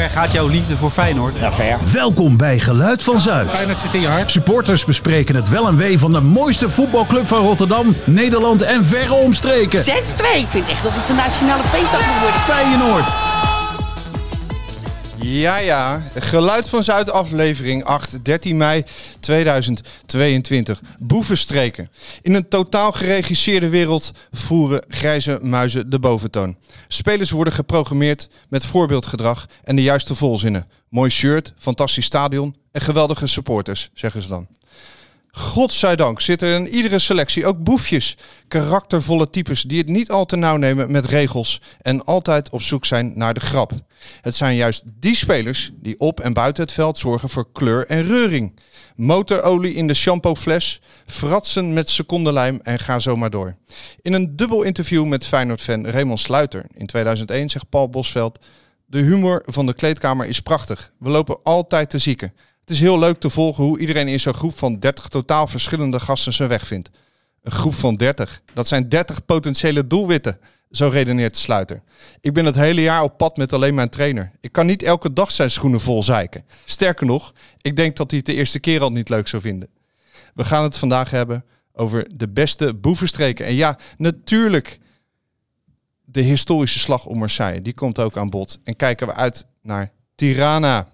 ver gaat jouw liefde voor Feyenoord? Ja, ver. Welkom bij Geluid van Zuid. Feyenoord zit in je hart. Supporters bespreken het wel en wee van de mooiste voetbalclub van Rotterdam, Nederland en verre omstreken. 6-2. Ik vind echt dat het een nationale feestdag moet worden. Feyenoord. Ja, Geluid van Zuid aflevering 8, 13 mei 2022. Boevenstreken. In een totaal geregisseerde wereld voeren grijze muizen de boventoon. Spelers worden geprogrammeerd met voorbeeldgedrag en de juiste volzinnen. Mooi shirt, fantastisch stadion en geweldige supporters, zeggen ze dan. Godzijdank zitten er in iedere selectie ook boefjes. Karaktervolle types die het niet al te nauw nemen met regels en altijd op zoek zijn naar de grap. Het zijn juist die spelers die op en buiten het veld zorgen voor kleur en reuring. Motorolie in de shampoofles, fratsen met secondenlijm en ga zo maar door. In een dubbel interview met Feyenoord-fan Raymond Sluiter in 2001 zegt Paul Bosveld: de humor van de kleedkamer is prachtig. We lopen altijd te zieken. Het is heel leuk te volgen hoe iedereen in zo'n groep van 30 totaal verschillende gasten zijn weg vindt. Een groep van 30, dat zijn 30 potentiële doelwitten, zo redeneert de Sluiter. Ik ben het hele jaar op pad met alleen mijn trainer. Ik kan niet elke dag zijn schoenen vol zeiken. Sterker nog, ik denk dat hij het de eerste keer al niet leuk zou vinden. We gaan het vandaag hebben over de beste boevenstreken. En ja, natuurlijk de historische slag om Marseille. Die komt ook aan bod. En kijken we uit naar Tirana.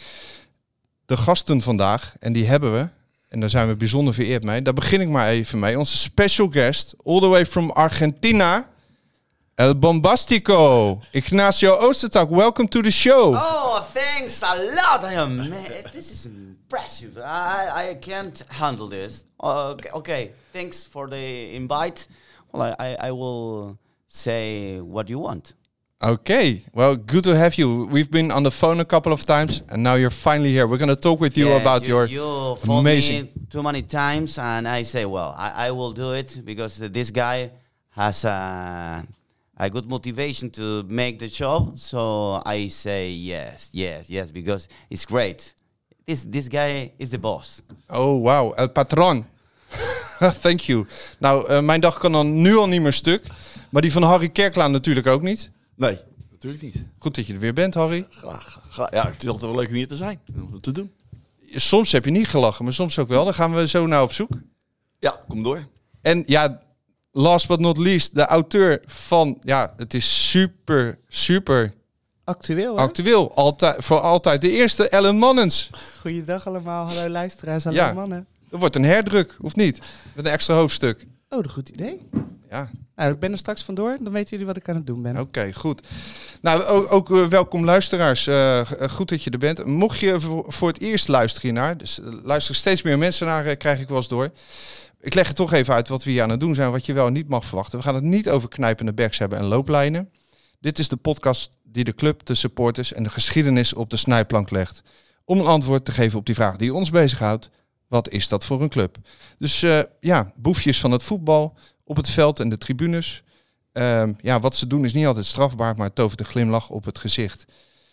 De gasten vandaag, en die hebben we, en daar zijn we bijzonder vereerd mee. Daar begin ik maar even mee. Onze special guest, all the way from Argentina, El Bombastico, Ignacio Oostertak. Welcome to the show. Oh, thanks a lot. Man, this is impressive. I can't handle this. Okay. Thanks for the invite. Well, I will say what you want. Okay, well, good to have you. We've been on the phone a couple of times, and now you're finally here. We're going to talk with you about your amazing... me too many times, and I say, well, I will do it because this guy has a good motivation to make the job. So I say yes, because it's great. This guy is the boss. Oh, wow, el patron. Thank you. Nou, mijn dag kan dan nu al niet meer stuk, maar die van Harry Kerklaan natuurlijk ook niet. Nee, natuurlijk niet. Goed dat je er weer bent, Harry. Graag. Ja, het is altijd wel leuk om hier te zijn. Om te doen. Soms heb je niet gelachen, maar soms ook wel. Dan gaan we zo naar op zoek. Ja, kom door. En ja, last but not least, de auteur van... Ja, het is super... Actueel, hè? Actueel. Voor altijd. De eerste Ellen Mannens. Goeiedag allemaal. Hallo luisteraars. Hallo Ja. mannen. Er wordt een herdruk, of niet? Met een extra hoofdstuk. Oh, een goed idee. Ja. Nou, ik ben er straks vandoor. Dan weten jullie wat ik aan het doen ben. Oké, goed. Nou, ook welkom luisteraars. Goed dat je er bent. Mocht je voor het eerst luisteren hiernaar, dus luisteren steeds meer mensen naar, krijg ik wel eens door. Ik leg het toch even uit wat we hier aan het doen zijn, wat je wel en niet mag verwachten. We gaan het niet over knijpende backs hebben en looplijnen. Dit is de podcast die de club, de supporters en de geschiedenis op de snijplank legt. Om een antwoord te geven op die vraag die ons bezighoudt. Wat is dat voor een club? Dus boefjes van het voetbal op het veld en de tribunes. Wat ze doen is niet altijd strafbaar, maar het tovert een glimlach op het gezicht.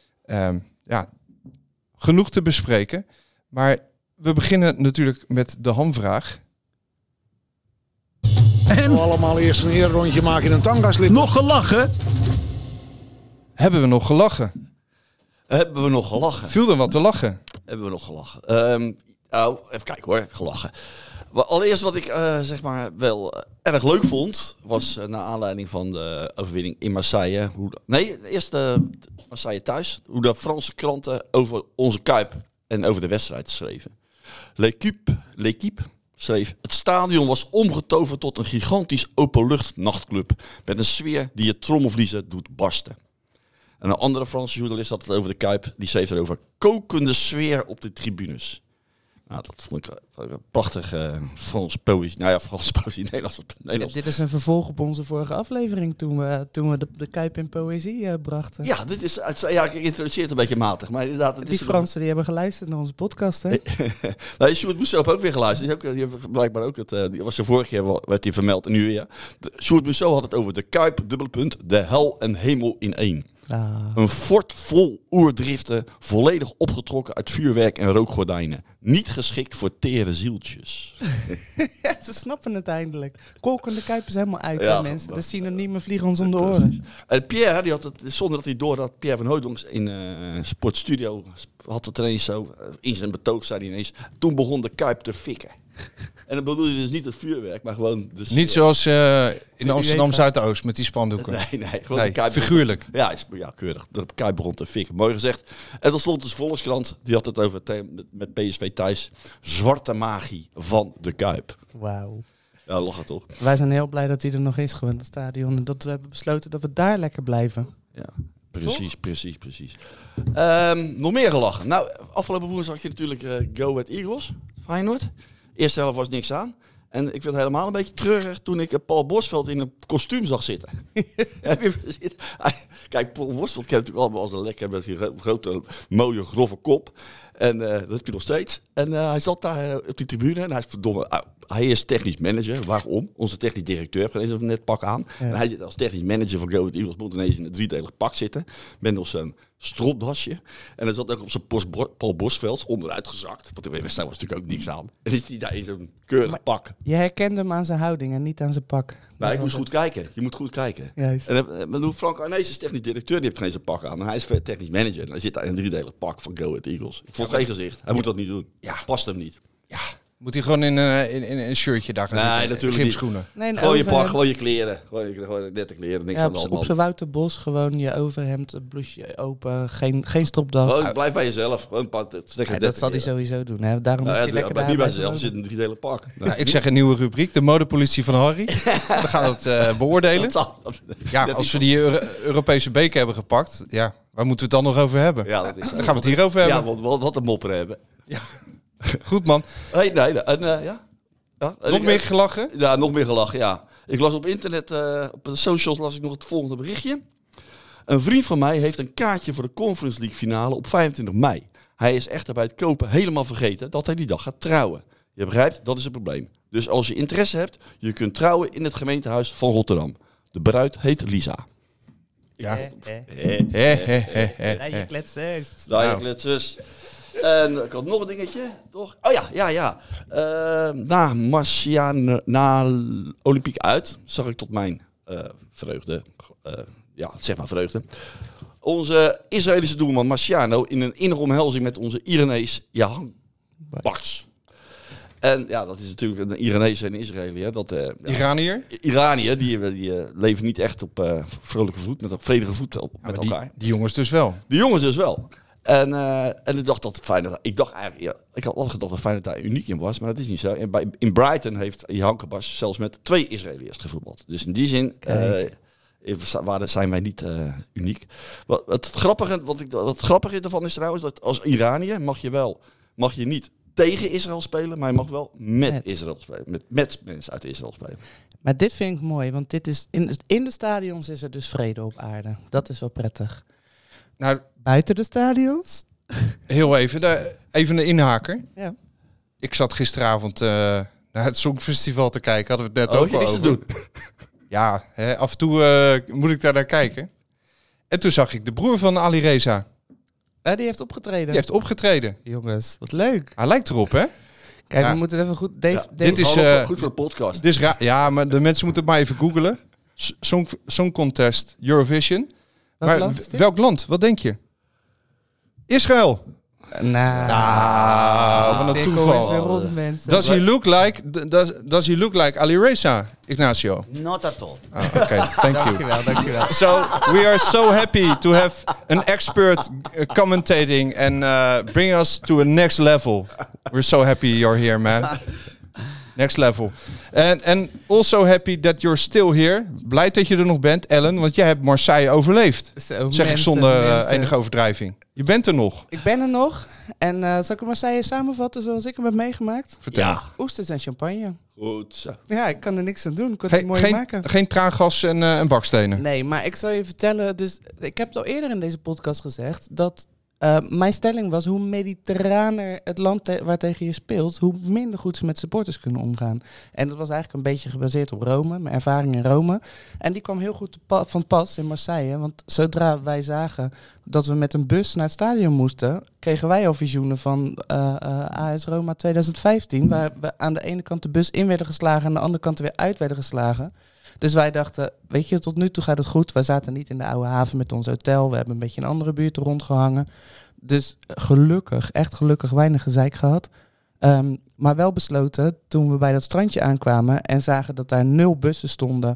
Genoeg te bespreken. Maar we beginnen natuurlijk met de hamvraag. En Allemaal eerst een rondje maken in een tangaslip. nog gelachen? Hebben we nog gelachen? Hebben we nog gelachen? Viel er wat te lachen? Hebben we nog gelachen? Even kijken hoor, gelachen. Allereerst wat ik wel erg leuk vond, was naar aanleiding van de overwinning in Marseille. Eerst Marseille thuis. Hoe de Franse kranten over onze Kuip en over de wedstrijd schreven. L'Équipe schreef: het stadion was omgetoverd tot een gigantisch openlucht nachtclub met een sfeer die je trommelvliezen doet barsten. En een andere Franse journalist had het over de Kuip. Die schreef erover: kokende sfeer op de tribunes. Nou, dat vond ik een prachtige Frans poëzie. Nou ja, Frans poëzie, Nederlands. Dit is een vervolg op onze vorige aflevering toen we de Kuip in poëzie brachten. Ja, dit is ik introduceer het een beetje matig. Maar inderdaad, Die Fransen die hebben geluisterd naar onze podcast, hè? Nou, Sjoerd Mousseau heeft ook weer geluisterd. Die heeft blijkbaar ook die was de vorige keer werd hij vermeld en nu weer. Sjoerd Mousseau had het over de Kuip, -- de hel en hemel in één. Een fort vol oerdriften, volledig opgetrokken uit vuurwerk en rookgordijnen. Niet geschikt voor tere zieltjes. Ja, ze snappen het eindelijk. Kolkende Kuip is helemaal uit, Ja, hè, mensen. dat- De synoniemen vliegen ons om de Precies. oren. En Pierre, die had het, zonder dat hij door had, Pierre van Hooydonks in Sportstudio had het ineens zo. In zijn betoog zei hij ineens, toen begon de Kuip te fikken. En dan bedoel je dus niet het vuurwerk, maar gewoon... Dus, Niet zoals in Amsterdam UEFA. Zuidoost met die spandoeken. Nee, gewoon Nee, de Kuip. figuurlijk. Ja, keurig. De Kuip begon te fikken. Mooi gezegd. En dan stond dus Volkskrant, die had het over met PSV thuis. Zwarte magie van de Kuip. Wauw. Ja, lachen toch? Wij zijn heel blij dat hij er nog is, gewoon het stadion. En dat we hebben besloten dat we daar lekker blijven. Ja, precies. Nog meer gelachen. Nou, afgelopen woensdag had je natuurlijk Go Ahead Eagles, Feyenoord. Eerste helft was niks aan. En ik vind het helemaal een beetje treurig toen ik Paul Bosveld in een kostuum zag zitten. Heb je gezien? Kijk, Paul Bosveld kent natuurlijk allemaal als een lekker met die grote, mooie, grove kop. En dat heb je nog steeds. En hij zat daar op die tribune en hij is verdomme... hij is technisch manager. Waarom? Onze technisch directeur heeft ineens net pak aan. Ja. En hij zit als technisch manager van Go Ahead Eagles moet ineens in een driedelig pak zitten. Met nog zo'n stropdasje. En hij zat ook op zijn Paul Bosveld onderuit gezakt. Want de wedstrijd was natuurlijk ook niks aan. En is hij daar in zo'n keurig pak. Je herkende hem aan zijn houding en niet aan zijn pak. Nou, ik Dat moest was goed kijken. Je moet goed kijken. het. Juist. En Frank Arnees is technisch directeur, die heeft geen zijn pak aan. En hij is technisch manager. En hij zit daar in een driedelig pak van Go Ahead Eagles. Ik vond geen gezicht. Hij moet dat niet doen. Ja. Past hem niet. Moet hij gewoon in een shirtje daar gaan Nee, zitten? natuurlijk Gymschoenen. Nee, een Gewoon je overhemd. pak, gewoon je kleren. Gewoon nette kleren, niks Ja, aan de hand. op zijn Wouter Bos gewoon je overhemd, het blouseje open, geen stropdas. Gewoon, blijf bij jezelf. Gewoon een paar, Ja, dat zal hij sowieso doen. Hè. Daarom moet Nou, je ja, lekker blijf daar niet bij blijven jezelf. wonen. Zit in een driedelig pak. Nou, ik zeg een nieuwe rubriek, de modepolitie van Harry. We gaan het beoordelen. Ja, als we die Europese beker hebben gepakt, ja, waar moeten we het dan nog over hebben? Ja, dat is Dan gaan we het hierover Ja, hebben. want wat een mopper hebben. Goed man. Nee. En, ja. Ja, en Nog ik- meer gelachen? Ja, nog meer gelachen, ja. Ik las op internet, op de socials las ik nog het volgende berichtje. Een vriend van mij heeft een kaartje voor de Conference League finale op 25 mei. Hij is echter bij het kopen helemaal vergeten dat hij die dag gaat trouwen. Je begrijpt, dat is het probleem. Dus als je interesse hebt, je kunt trouwen in het gemeentehuis van Rotterdam. De bruid heet Lisa. Ja. Ja, je kletsen. Daar je kletsers. En ik had nog een dingetje, toch? Oh ja. Na Marciano, na Olympiek uit, zag ik tot mijn vreugde, vreugde, onze Israëlische doelman Marciano in een innige omhelzing met onze Iranees Jahan Baks. En ja, dat is natuurlijk een Iranees en Israëliër. Iranier? Iranië, die leven niet echt op vrolijke voet, met een vredige voet met elkaar. Die jongens dus wel. De jongens dus wel. En ik dacht dat Feyenoord... Ik dacht eigenlijk... Ja, ik had altijd gedacht dat Feyenoord daar uniek in was, maar dat is niet zo. En in Brighton heeft Jan Kabas zelfs met 2 Israëliërs gevoetbald. Dus in die zin zijn wij niet uniek. Wat grappige ervan is trouwens dat als Iraniër mag je niet tegen Israël spelen, maar je mag wel met Israël spelen. Met mensen uit Israël spelen. Maar dit vind ik mooi, want dit is in de stadions is er dus vrede op aarde. Dat is wel prettig. Nou, Buiten de stadions? heel even. Even een inhaker. Ja. Ik zat gisteravond naar het Songfestival te kijken. Hadden we het net Oh, ook je al niks te over. doen. Ja, af en toe moet ik daar naar kijken. En toen zag ik de broer van Ali Reza. Die heeft opgetreden. Die heeft opgetreden. Jongens, wat leuk. Hij lijkt erop, hè? Kijk, Ja. we moeten even goed... dit is, goed voor de podcast. Dit is ja, maar de mensen moeten het maar even googlen. Song Contest Eurovision. Welk Maar land is dit? welk land? Wat denk je? Israël. Nou, wat een cirkel toeval. is weer rond, mensen. Does he look like Ali Reza, Ignacio? Not at all. Oh, okay, thank you. Dankjewel. So we are so happy to have an expert commentating and bring us to a next level. We're so happy you're here, man. Next level. And also happy that you're still here. Blij dat je er nog bent, Ellen, want jij hebt Marseille overleefd. Zo, Zeg ik zonder enige overdrijving. Je bent er nog. Ik ben er nog. En zal ik Marseille samenvatten zoals ik hem heb meegemaakt? Vertel. Ja, Oesters en champagne. goed zo. Ja, ik kan er niks aan doen. Ik kan het mooi maken. Geen traangas en bakstenen. Nee, maar ik zal je vertellen. Dus ik heb het al eerder in deze podcast gezegd dat Mijn stelling was, hoe mediterraner het land waartegen je speelt, hoe minder goed ze met supporters kunnen omgaan. En dat was eigenlijk een beetje gebaseerd op Rome, mijn ervaring in Rome. En die kwam heel goed van pas in Marseille. Want zodra wij zagen dat we met een bus naar het stadion moesten, kregen wij al visioenen van AS Roma 2015. Waar we aan de ene kant de bus in werden geslagen en aan de andere kant er weer uit werden geslagen. Dus wij dachten, weet je, tot nu toe gaat het goed. Wij zaten niet in de oude haven met ons hotel. We hebben een beetje in andere buurten rondgehangen. Dus gelukkig, echt gelukkig, weinig gezeik gehad. Maar wel besloten, toen we bij dat strandje aankwamen en zagen dat daar 0 bussen stonden.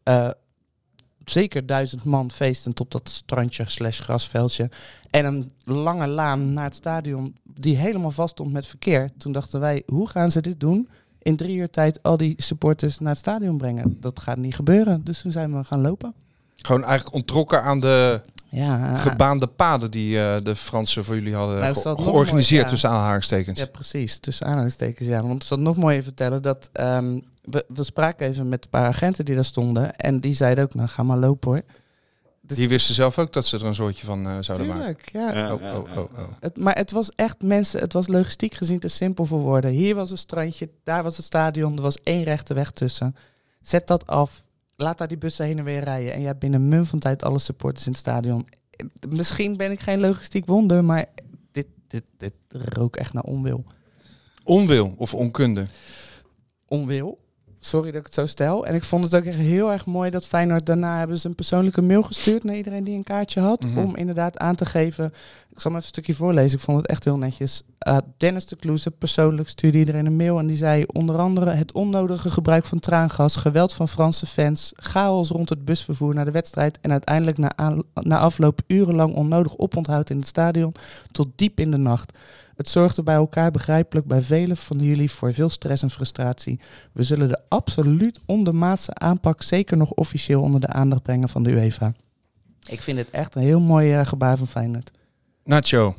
Zeker 1000 man feestend op dat strandje / grasveldje. En een lange laan naar het stadion die helemaal vast stond met verkeer. Toen dachten wij, hoe gaan ze dit doen? In 3 uur tijd al die supporters naar het stadion brengen. Dat gaat niet gebeuren. Dus toen zijn we gaan lopen. Gewoon eigenlijk ontrokken aan de Ja, gebaande paden die de Fransen voor jullie hadden Nou, is dat nog georganiseerd mooi, ja. tussen aanhalingstekens. ja, precies. Tussen aanhalingstekens, ja. Want ik zal nog mooier vertellen dat we spraken even met een paar agenten die daar stonden. En die zeiden ook, nou ga maar lopen hoor. Dus Die wisten zelf ook dat ze er een soortje van zouden maken. tuurlijk, ja. Oh. Maar het was echt mensen, het was logistiek gezien te simpel voor woorden. Hier was een strandje, daar was het stadion, er was 1 rechte weg tussen. Zet dat af, laat daar die bussen heen en weer rijden. En je hebt binnen een mum van tijd alle supporters in het stadion. Misschien ben ik geen logistiek wonder, maar dit rook echt naar onwil. Onwil of onkunde. Onwil. Sorry dat ik het zo stel. En ik vond het ook echt heel erg mooi dat Feyenoord daarna hebben ze een persoonlijke mail gestuurd naar iedereen die een kaartje had. Mhm. Om inderdaad aan te geven. Ik zal hem even een stukje voorlezen. Ik vond het echt heel netjes. Dennis de Kloeze persoonlijk stuurde iedereen een mail. En die zei onder andere het onnodige gebruik van traangas, geweld van Franse fans, chaos rond het busvervoer naar de wedstrijd. En uiteindelijk na afloop urenlang onnodig oponthoud in het stadion tot diep in de nacht. Het zorgde bij elkaar begrijpelijk bij velen van jullie voor veel stress en frustratie. We zullen de absoluut ondermaatse aanpak zeker nog officieel onder de aandacht brengen van de UEFA. Ik vind het echt een heel mooi gebaar van Feyenoord. Nacho.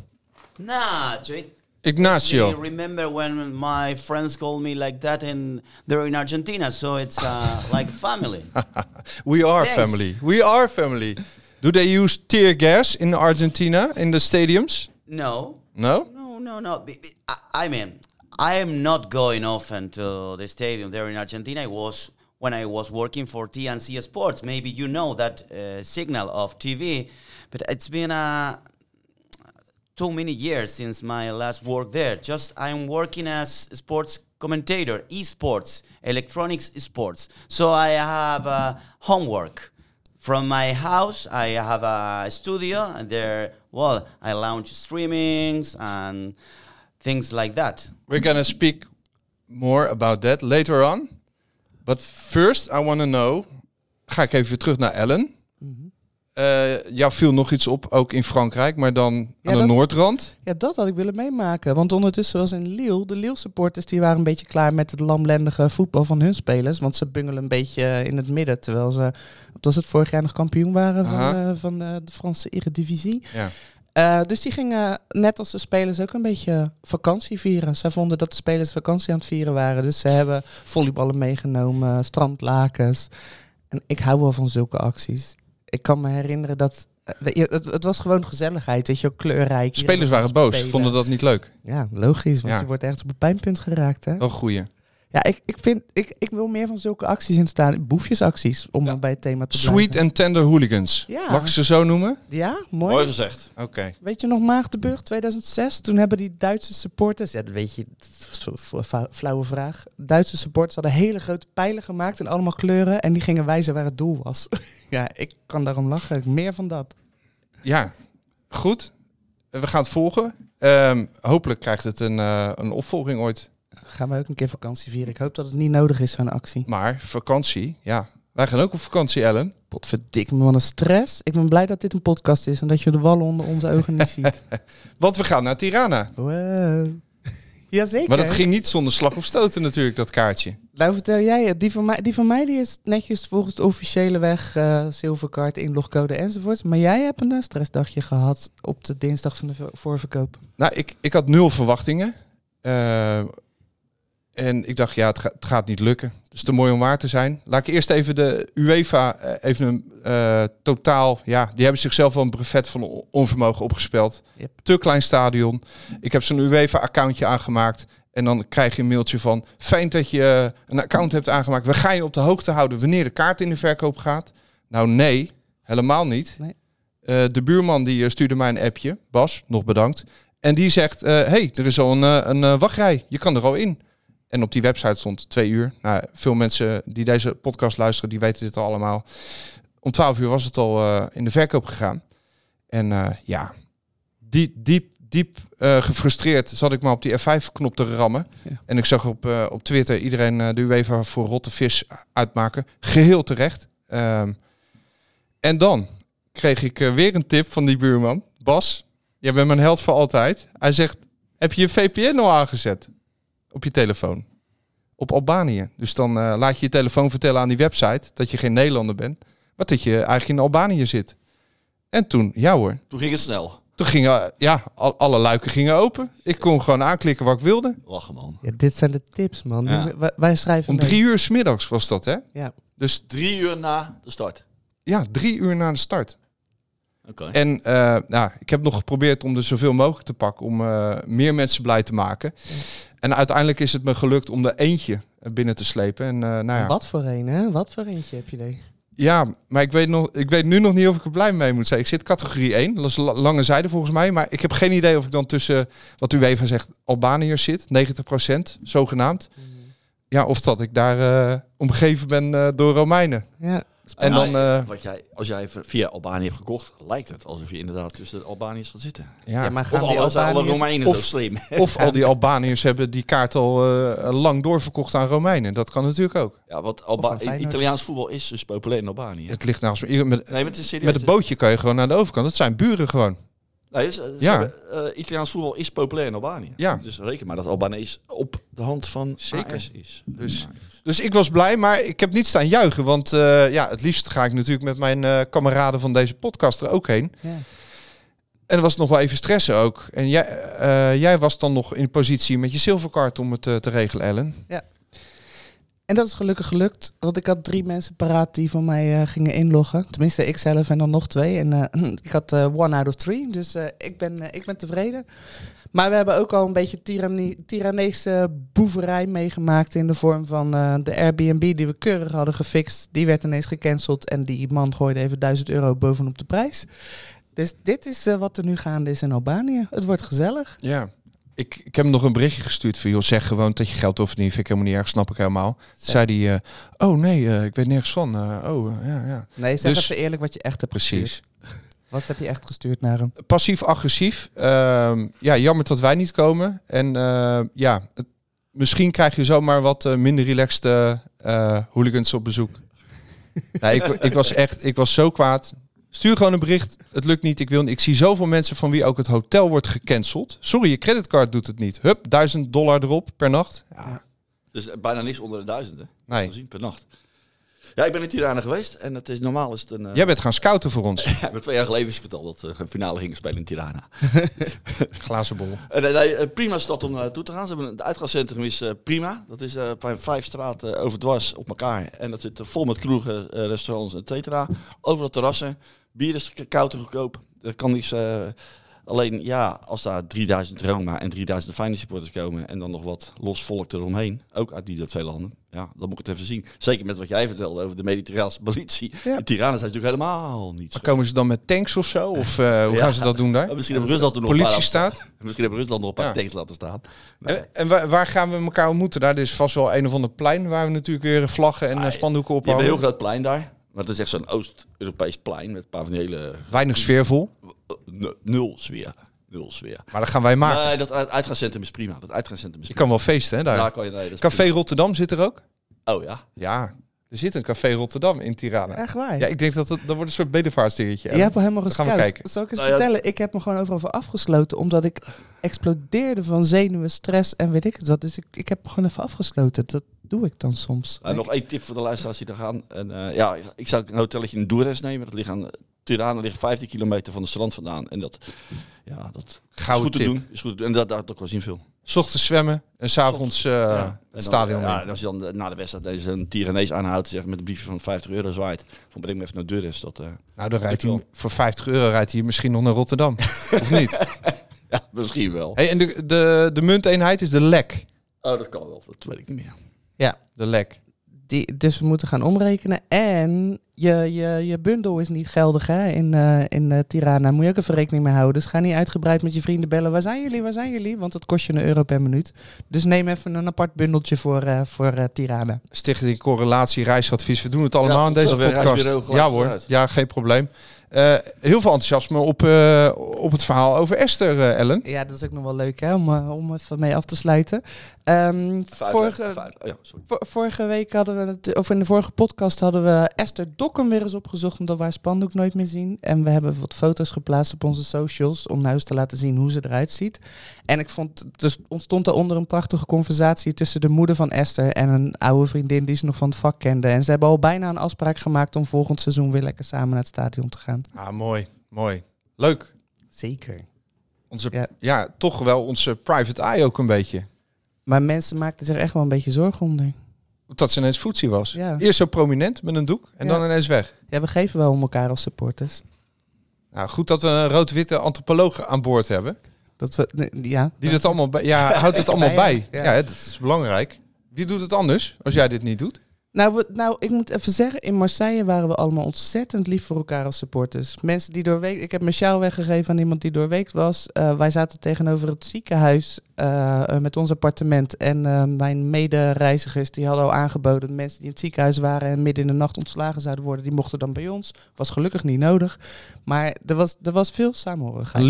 Ignacio. I remember when my friends called me like that and they're in Argentina, so it's like a family. We are Thanks. family. We are family. Do they use tear gas in Argentina, in the stadiums? No. No? No. I mean, I am not going often to the stadium there in Argentina. I was when I was working for TNC Sports. Maybe you know that signal of TV, but it's been too many years since my last work there. Just I'm working as sports commentator, esports, electronics sports. So I have homework. From my house, I have a studio, and there, well, I launch streamings and things like that. We're going to speak more about that later on. But first, I want to know... Ga ik even weer terug naar Ellen. Jou viel nog iets op, ook in Frankrijk, maar dan aan de noordrand. Ja, dat had ik willen meemaken. Want ondertussen was in Lille, de Lille-supporters die waren een beetje klaar met het lamlendige voetbal van hun spelers. Want ze bungelen een beetje in het midden, terwijl ze, wat was het, vorig jaar nog kampioen waren van de Franse Eredivisie. Ja. Dus die gingen, net als de spelers, ook een beetje vakantie vieren. Zij vonden dat de spelers vakantie aan het vieren waren. Dus ze hebben volleyballen meegenomen, strandlakens. En ik hou wel van zulke acties. Ik kan me herinneren dat... Het was gewoon gezelligheid, weet je wel, kleurrijk. Spelers waren boos, vonden dat niet leuk. Ja, logisch, want Ja. je wordt ergens op een pijnpunt geraakt, hè? Wel goeie. Ja, ik wil meer van zulke acties in staan. Boefjesacties, om bij het thema te blijven. Sweet and tender hooligans. Ja. Mag ik ze zo noemen? Ja, mooi. Mooi gezegd. Oké. Weet je nog Maagdenburg 2006? Toen hebben die Duitse supporters... Ja, dat weet je, dat is een flauwe vraag. Duitse supporters hadden hele grote pijlen gemaakt en allemaal kleuren. En die gingen wijzen waar het doel was. Ja, ik kan daarom lachen. Meer van dat. Ja, goed. We gaan het volgen. Hopelijk krijgt het een opvolging ooit. Gaan we ook een keer vakantie vieren. Ik hoop dat het niet nodig is, zo'n actie. Maar vakantie, ja. Wij gaan ook op vakantie, Ellen. Potverdik me, wat een stress. Ik ben blij dat dit een podcast is en dat je de wallen onder onze ogen niet ziet. Want we gaan naar Tirana. Wow. Jazeker. Maar dat ging niet zonder slag of stoten natuurlijk, dat kaartje. Nou, vertel jij het. Die van mij die is netjes volgens de officiële weg, zilverkaart, inlogcode enzovoort. Maar jij hebt een stressdagje gehad op de dinsdag van de voorverkoop. Nou, ik had 0 verwachtingen. En ik dacht, het gaat niet lukken. Het is te mooi om waar te zijn. Laat ik eerst even de UEFA totaal... Ja, die hebben zichzelf wel een brevet van onvermogen opgespeld. Yep. Te klein stadion. Ik heb zo'n UEFA-accountje aangemaakt. En dan krijg je een mailtje van... Fijn dat je een account hebt aangemaakt. We gaan je op de hoogte houden wanneer de kaart in de verkoop gaat. Nou nee, helemaal niet. Nee. De buurman die stuurde mij een appje. Bas, nog bedankt. En die zegt, hey, er is al een wachtrij. Je kan er al in. En op die website stond 2 uur. Nou, veel mensen die deze podcast luisteren, die weten dit al allemaal. Om 12 uur was het al in de verkoop gegaan. En diep gefrustreerd zat ik maar op die F5-knop te rammen. Ja. En ik zag op Twitter iedereen de UEFA voor rotte vis uitmaken. Geheel terecht. En dan kreeg ik weer een tip van die buurman. Bas, jij bent mijn held voor altijd. Hij zegt, heb je je VPN al aangezet? Op je telefoon. Op Albanië. Dus dan laat je je telefoon vertellen aan die website dat je geen Nederlander bent. Maar dat je eigenlijk in Albanië zit. En toen, ja hoor. Toen ging het snel. Toen gingen, alle luiken gingen open. Ik kon gewoon aanklikken wat ik wilde. Lachen, man. Ja, dit zijn de tips, man. Ja. Wij schrijven Om 3 uur 's middags was dat, hè? Ja. Dus 3 uur na de start. Ja, 3 uur na de start. Okay. En ik heb nog geprobeerd om er zoveel mogelijk te pakken. Om meer mensen blij te maken. Ja. En uiteindelijk is het me gelukt om er eentje binnen te slepen. En, Wat voor een, hè? Wat voor eentje heb je er? Ja, maar ik weet nu nog niet of ik er blij mee moet zijn. Ik zit categorie 1, dat is lange zijde volgens mij. Maar ik heb geen idee of ik dan tussen, wat UEFA zegt, Albaniërs zit. 90% zogenaamd. Ja, of dat ik daar omgeven ben door Romeinen. Ja. En dan, als jij via Albanië hebt gekocht, lijkt het alsof je inderdaad tussen de Albaniërs gaat zitten. Ja, maar of alle Romeinen zo slim. Of al die Albaniërs hebben die kaart al lang doorverkocht aan Romeinen. Dat kan natuurlijk ook. Ja, want Italiaans voetbal is dus populair in Albanië. Het ligt naast me. Met een bootje kan je gewoon naar de overkant. Dat zijn buren gewoon. Nee, Italiaans voetbal is populair in Albanië. Ja. Dus reken maar dat Albanees op de hand van AS is. Dus ik was blij, maar ik heb niet staan juichen. Want het liefst ga ik natuurlijk met mijn kameraden van deze podcast er ook heen. Ja. En er was nog wel even stressen ook. En jij was dan nog in positie met je zilverkaart om het te regelen, Ellen. Ja. En dat is gelukkig gelukt, want ik had 3 mensen paraat die van mij gingen inloggen. Tenminste, ik zelf en dan nog 2. En ik had 1 out of 3, dus ik ben tevreden. Maar we hebben ook al een beetje tiraneese boeverij meegemaakt in de vorm van de Airbnb die we keurig hadden gefixt. Die werd ineens gecanceld en die man gooide even €1000 bovenop de prijs. Dus dit is wat er nu gaande is in Albanië. Het wordt gezellig. Ja. Ik heb hem nog een berichtje gestuurd van, joh, zeg gewoon dat je geld wil verdienen. Vind ik helemaal niet erg, snap ik helemaal. Zei hij, oh nee, ik weet nergens van. Ja. Nee, zeg even eerlijk wat je echt hebt gestuurd. Wat heb je echt gestuurd naar hem? Passief-agressief. Jammer dat wij niet komen. En misschien krijg je zomaar wat minder relaxed hooligans op bezoek. Ik was zo kwaad. Stuur gewoon een bericht. Het lukt niet. Ik zie zoveel mensen van wie ook het hotel wordt gecanceld. Sorry, je creditcard doet het niet. Hup, $1000 erop per nacht. Ja. Dus bijna niks onder de 1000, hè? Nee. Gezien per nacht. Ja, ik ben in Tirana geweest en het is normaal is het een... Jij bent gaan scouten voor ons. Ja, 2 jaar geleden wist ik het al dat we een finale gingen spelen in Tirana. Glazen bol. Prima stad om naartoe te gaan. Het uitgaanscentrum is prima. Dat is 5 straten overdwars op elkaar. En dat zit vol met kroegen, restaurants, et cetera. Overal terrassen. Bier is koud en goedkoop. Er kan niks... Alleen als daar 3000 Roma en 3000 Feyenoord supporters komen en dan nog wat los volk eromheen, ook uit die 2 landen, dan moet ik het even zien. Zeker met wat jij vertelde over de mediterraanse politie. Ja. In Tirana zijn natuurlijk helemaal niet. Komen ze dan met tanks of zo? Of hoe gaan ze dat doen daar? Misschien hebben Rusland er nog politie staat. Misschien hebben Rusland nog een paar tanks laten staan. Nee. En waar gaan we elkaar ontmoeten daar? Dit is vast wel een of ander plein waar we natuurlijk weer vlaggen en spandoeken op hangen. Je hebt een heel groot plein daar. Maar het is echt zo'n Oost-Europees plein met een paar van die hele... Weinig sfeervol. Nul sfeer. Maar dat gaan wij maken. Nee, dat uitgaanscentrum is prima. Je kan wel feesten, hè, daar. Ja, kan je, Café prima. Rotterdam zit er ook? Oh ja? Ja, er zit een Café Rotterdam in Tirana. Echt waar? Ja, ik denk dat wordt een soort bedevaartsdingetje. Je hebt al helemaal gescout. Gaan we kijken. Zal ik eens vertellen? Ik heb me gewoon overal voor afgesloten, omdat ik explodeerde van zenuwen, stress en weet ik het wat. Dus ik heb me gewoon even afgesloten. Dat doe ik dan soms. Nog 1 tip voor de luisteraars die er gaan. En, ik zou een hotelletje in Durrës nemen. Dat ligt aan... Tirana ligt 15 kilometer van de strand vandaan. En dat is goed te doen. En dat kost niet veel. 'S Ochtends zwemmen en 's avonds het stadion in. Ja, en als je dan na de wedstrijd deze een Tiranees aanhoudt, zeg, met een briefje van €50 zwaait. Van breng me even naar Durres. Nou, dan rijdt hij voor €50 rijdt hij misschien nog naar Rotterdam. Of niet? Ja, misschien wel. Hey, en de munteenheid is de lek. Oh, dat kan wel. Dat weet ik niet meer. Ja, De lek. dus we moeten gaan omrekenen. En je bundel is niet geldig hè, in Tirana. Moet je ook even rekening mee houden. Dus ga niet uitgebreid met je vrienden bellen. Waar zijn jullie? Want het kost je €1 per minuut. Dus neem even een apart bundeltje voor Tirana. Stichting Correlatie Reisadvies. We doen het allemaal in deze tot zover podcast. Reisbureau geluid Ja hoor, vooruit. ja, geen probleem. Heel veel enthousiasme op het verhaal over Esther, Ellen. Ja, dat is ook nog wel leuk hè, om even mee af te sluiten. Vorige week hadden we of in de vorige podcast hadden we Esther Dokken weer eens opgezocht, omdat we haar spandoek nooit meer zien. En we hebben wat foto's geplaatst op onze socials om nou eens te laten zien hoe ze eruit ziet. En ik vond, dus ontstond daaronder een prachtige conversatie tussen de moeder van Esther en een oude vriendin die ze nog van het vak kende. En ze hebben al bijna een afspraak gemaakt om volgend seizoen weer lekker samen naar het stadion te gaan. Ah, mooi. Leuk. Zeker. Toch wel onze private eye ook een beetje. Maar mensen maakten zich echt wel een beetje zorgen om. Dat ze ineens voetzie was. Ja. Eerst zo prominent met een doek en dan ineens weg. Ja, we geven wel om elkaar als supporters. Nou, goed dat we een rood-witte antropoloog aan boord hebben. Die dat allemaal houdt het allemaal bij. Ja, dat is belangrijk. Wie doet het anders als jij dit niet doet? Nou, ik moet even zeggen, in Marseille waren we allemaal ontzettend lief voor elkaar als supporters. Mensen die doorweek, ik heb mijn sjaal weggegeven aan iemand die doorweekt was. Wij zaten tegenover het ziekenhuis met ons appartement. En mijn medereizigers die hadden al aangeboden, mensen die in het ziekenhuis waren en midden in de nacht ontslagen zouden worden, die mochten dan bij ons. Was gelukkig niet nodig. Maar er was veel samenhorigheid.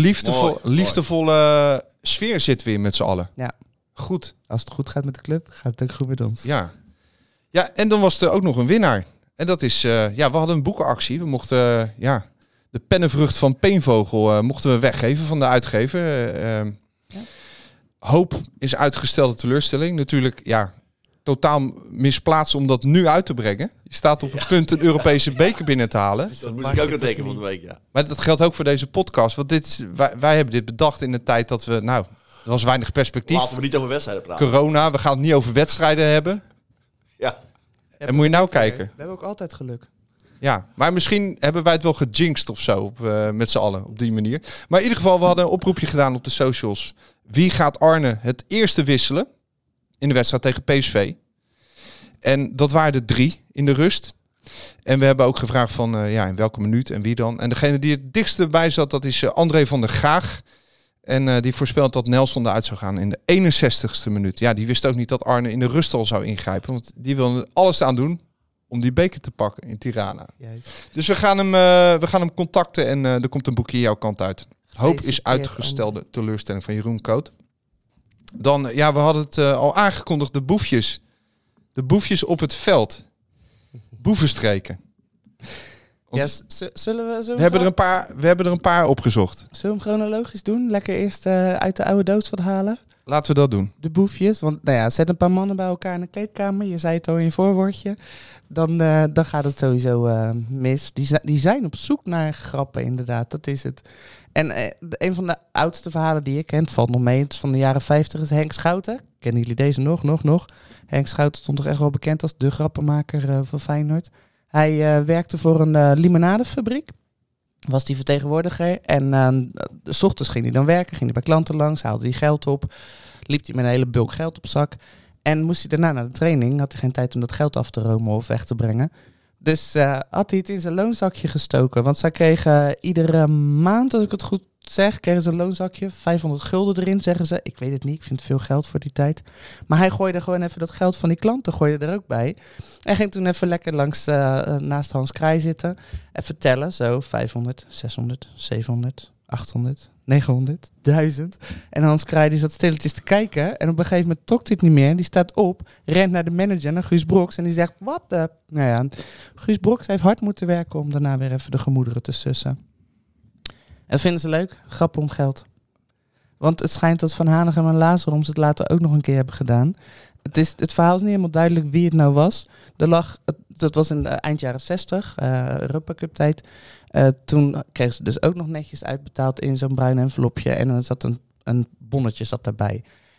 Liefdevolle sfeer zit weer met z'n allen. Ja. Goed. Als het goed gaat met de club, gaat het ook goed met ons. Ja. Ja, en dan was er ook nog een winnaar. En dat is, we hadden een boekenactie. We mochten, de pennenvrucht van Peenvogel mochten we weggeven van de uitgever. Hoop is uitgestelde teleurstelling. Natuurlijk, totaal misplaatst om dat nu uit te brengen. Je staat op het punt een Europese beker binnen te halen. Dat moest ik ook aan denken van de week, ja. Maar dat geldt ook voor deze podcast. Want wij hebben dit bedacht in de tijd dat we, er was weinig perspectief. Laten we niet over wedstrijden praten. Corona, we gaan het niet over wedstrijden hebben. Ja. En moet je nou kijken. We hebben ook altijd geluk. Ja, maar misschien hebben wij het wel gejinxed of zo, met z'n allen, op die manier. Maar in ieder geval, we hadden een oproepje gedaan op de socials. Wie gaat Arne het eerste wisselen in de wedstrijd tegen PSV? En dat waren er 3 in de rust. En we hebben ook gevraagd van, in welke minuut en wie dan. En degene die het dichtst bij zat, dat is André van der Gaag. En die voorspelt dat Nelson eruit zou gaan in de 61ste minuut. Ja, die wist ook niet dat Arne in de rust al zou ingrijpen. Want die wil alles aan doen om die beker te pakken in Tirana. Juist. Dus we gaan hem contacten en er komt een boekje jouw kant uit. Hoop is uitgestelde teleurstelling van Jeroen Koot. Dan, we hadden het al aangekondigd, de boefjes. De boefjes op het veld. Boevenstreken. We hebben er een paar opgezocht. Zullen we hem chronologisch doen? Lekker eerst uit de oude doos wat halen? Laten we dat doen. De boefjes. Want zet een paar mannen bij elkaar in de kleedkamer. Je zei het al in je voorwoordje. Dan gaat het sowieso mis. Die zijn op zoek naar grappen, inderdaad. Dat is het. En een van de oudste verhalen die ik ken, het valt nog mee. Het is van de jaren 50, is Henk Schouten. Kennen jullie deze nog? Henk Schouten stond toch echt wel bekend als de grappenmaker van Feyenoord. Hij werkte voor een limonadefabriek. Was die vertegenwoordiger. En 's ochtends ging hij dan werken. Ging hij bij klanten langs. Haalde hij geld op. Liep hij met een hele bulk geld op zak. En moest hij daarna naar de training. Had hij geen tijd om dat geld af te romen of weg te brengen. Dus had hij het in zijn loonzakje gestoken. Want zij kregen iedere maand, als ik het goed zeg, kregen ze een loonzakje. 500 gulden erin, zeggen ze. Ik weet het niet, ik vind het veel geld voor die tijd. Maar hij gooide gewoon even dat geld van die klanten gooide er ook bij. En ging toen even lekker langs naast Hans Kraai zitten. Even tellen, zo 500, 600, 700, 800, 900, 1000. En Hans Kraai die zat stilletjes te kijken. En op een gegeven moment trok hij het niet meer. Die staat op, rent naar de manager, naar Guus Broks. En die zegt, wat de... Nou ja, Guus Broks heeft hard moeten werken om daarna weer even de gemoederen te sussen. En dat vinden ze leuk. Grappen om geld. Want het schijnt dat Van Hanegem en Lazaroms het later ook nog een keer hebben gedaan. Het verhaal is niet helemaal duidelijk wie het nou was. Dat was in de eind jaren 60, Europa Cup tijd. Toen kregen ze dus ook nog netjes uitbetaald in zo'n bruin envelopje. En dan zat een bonnetje daarbij.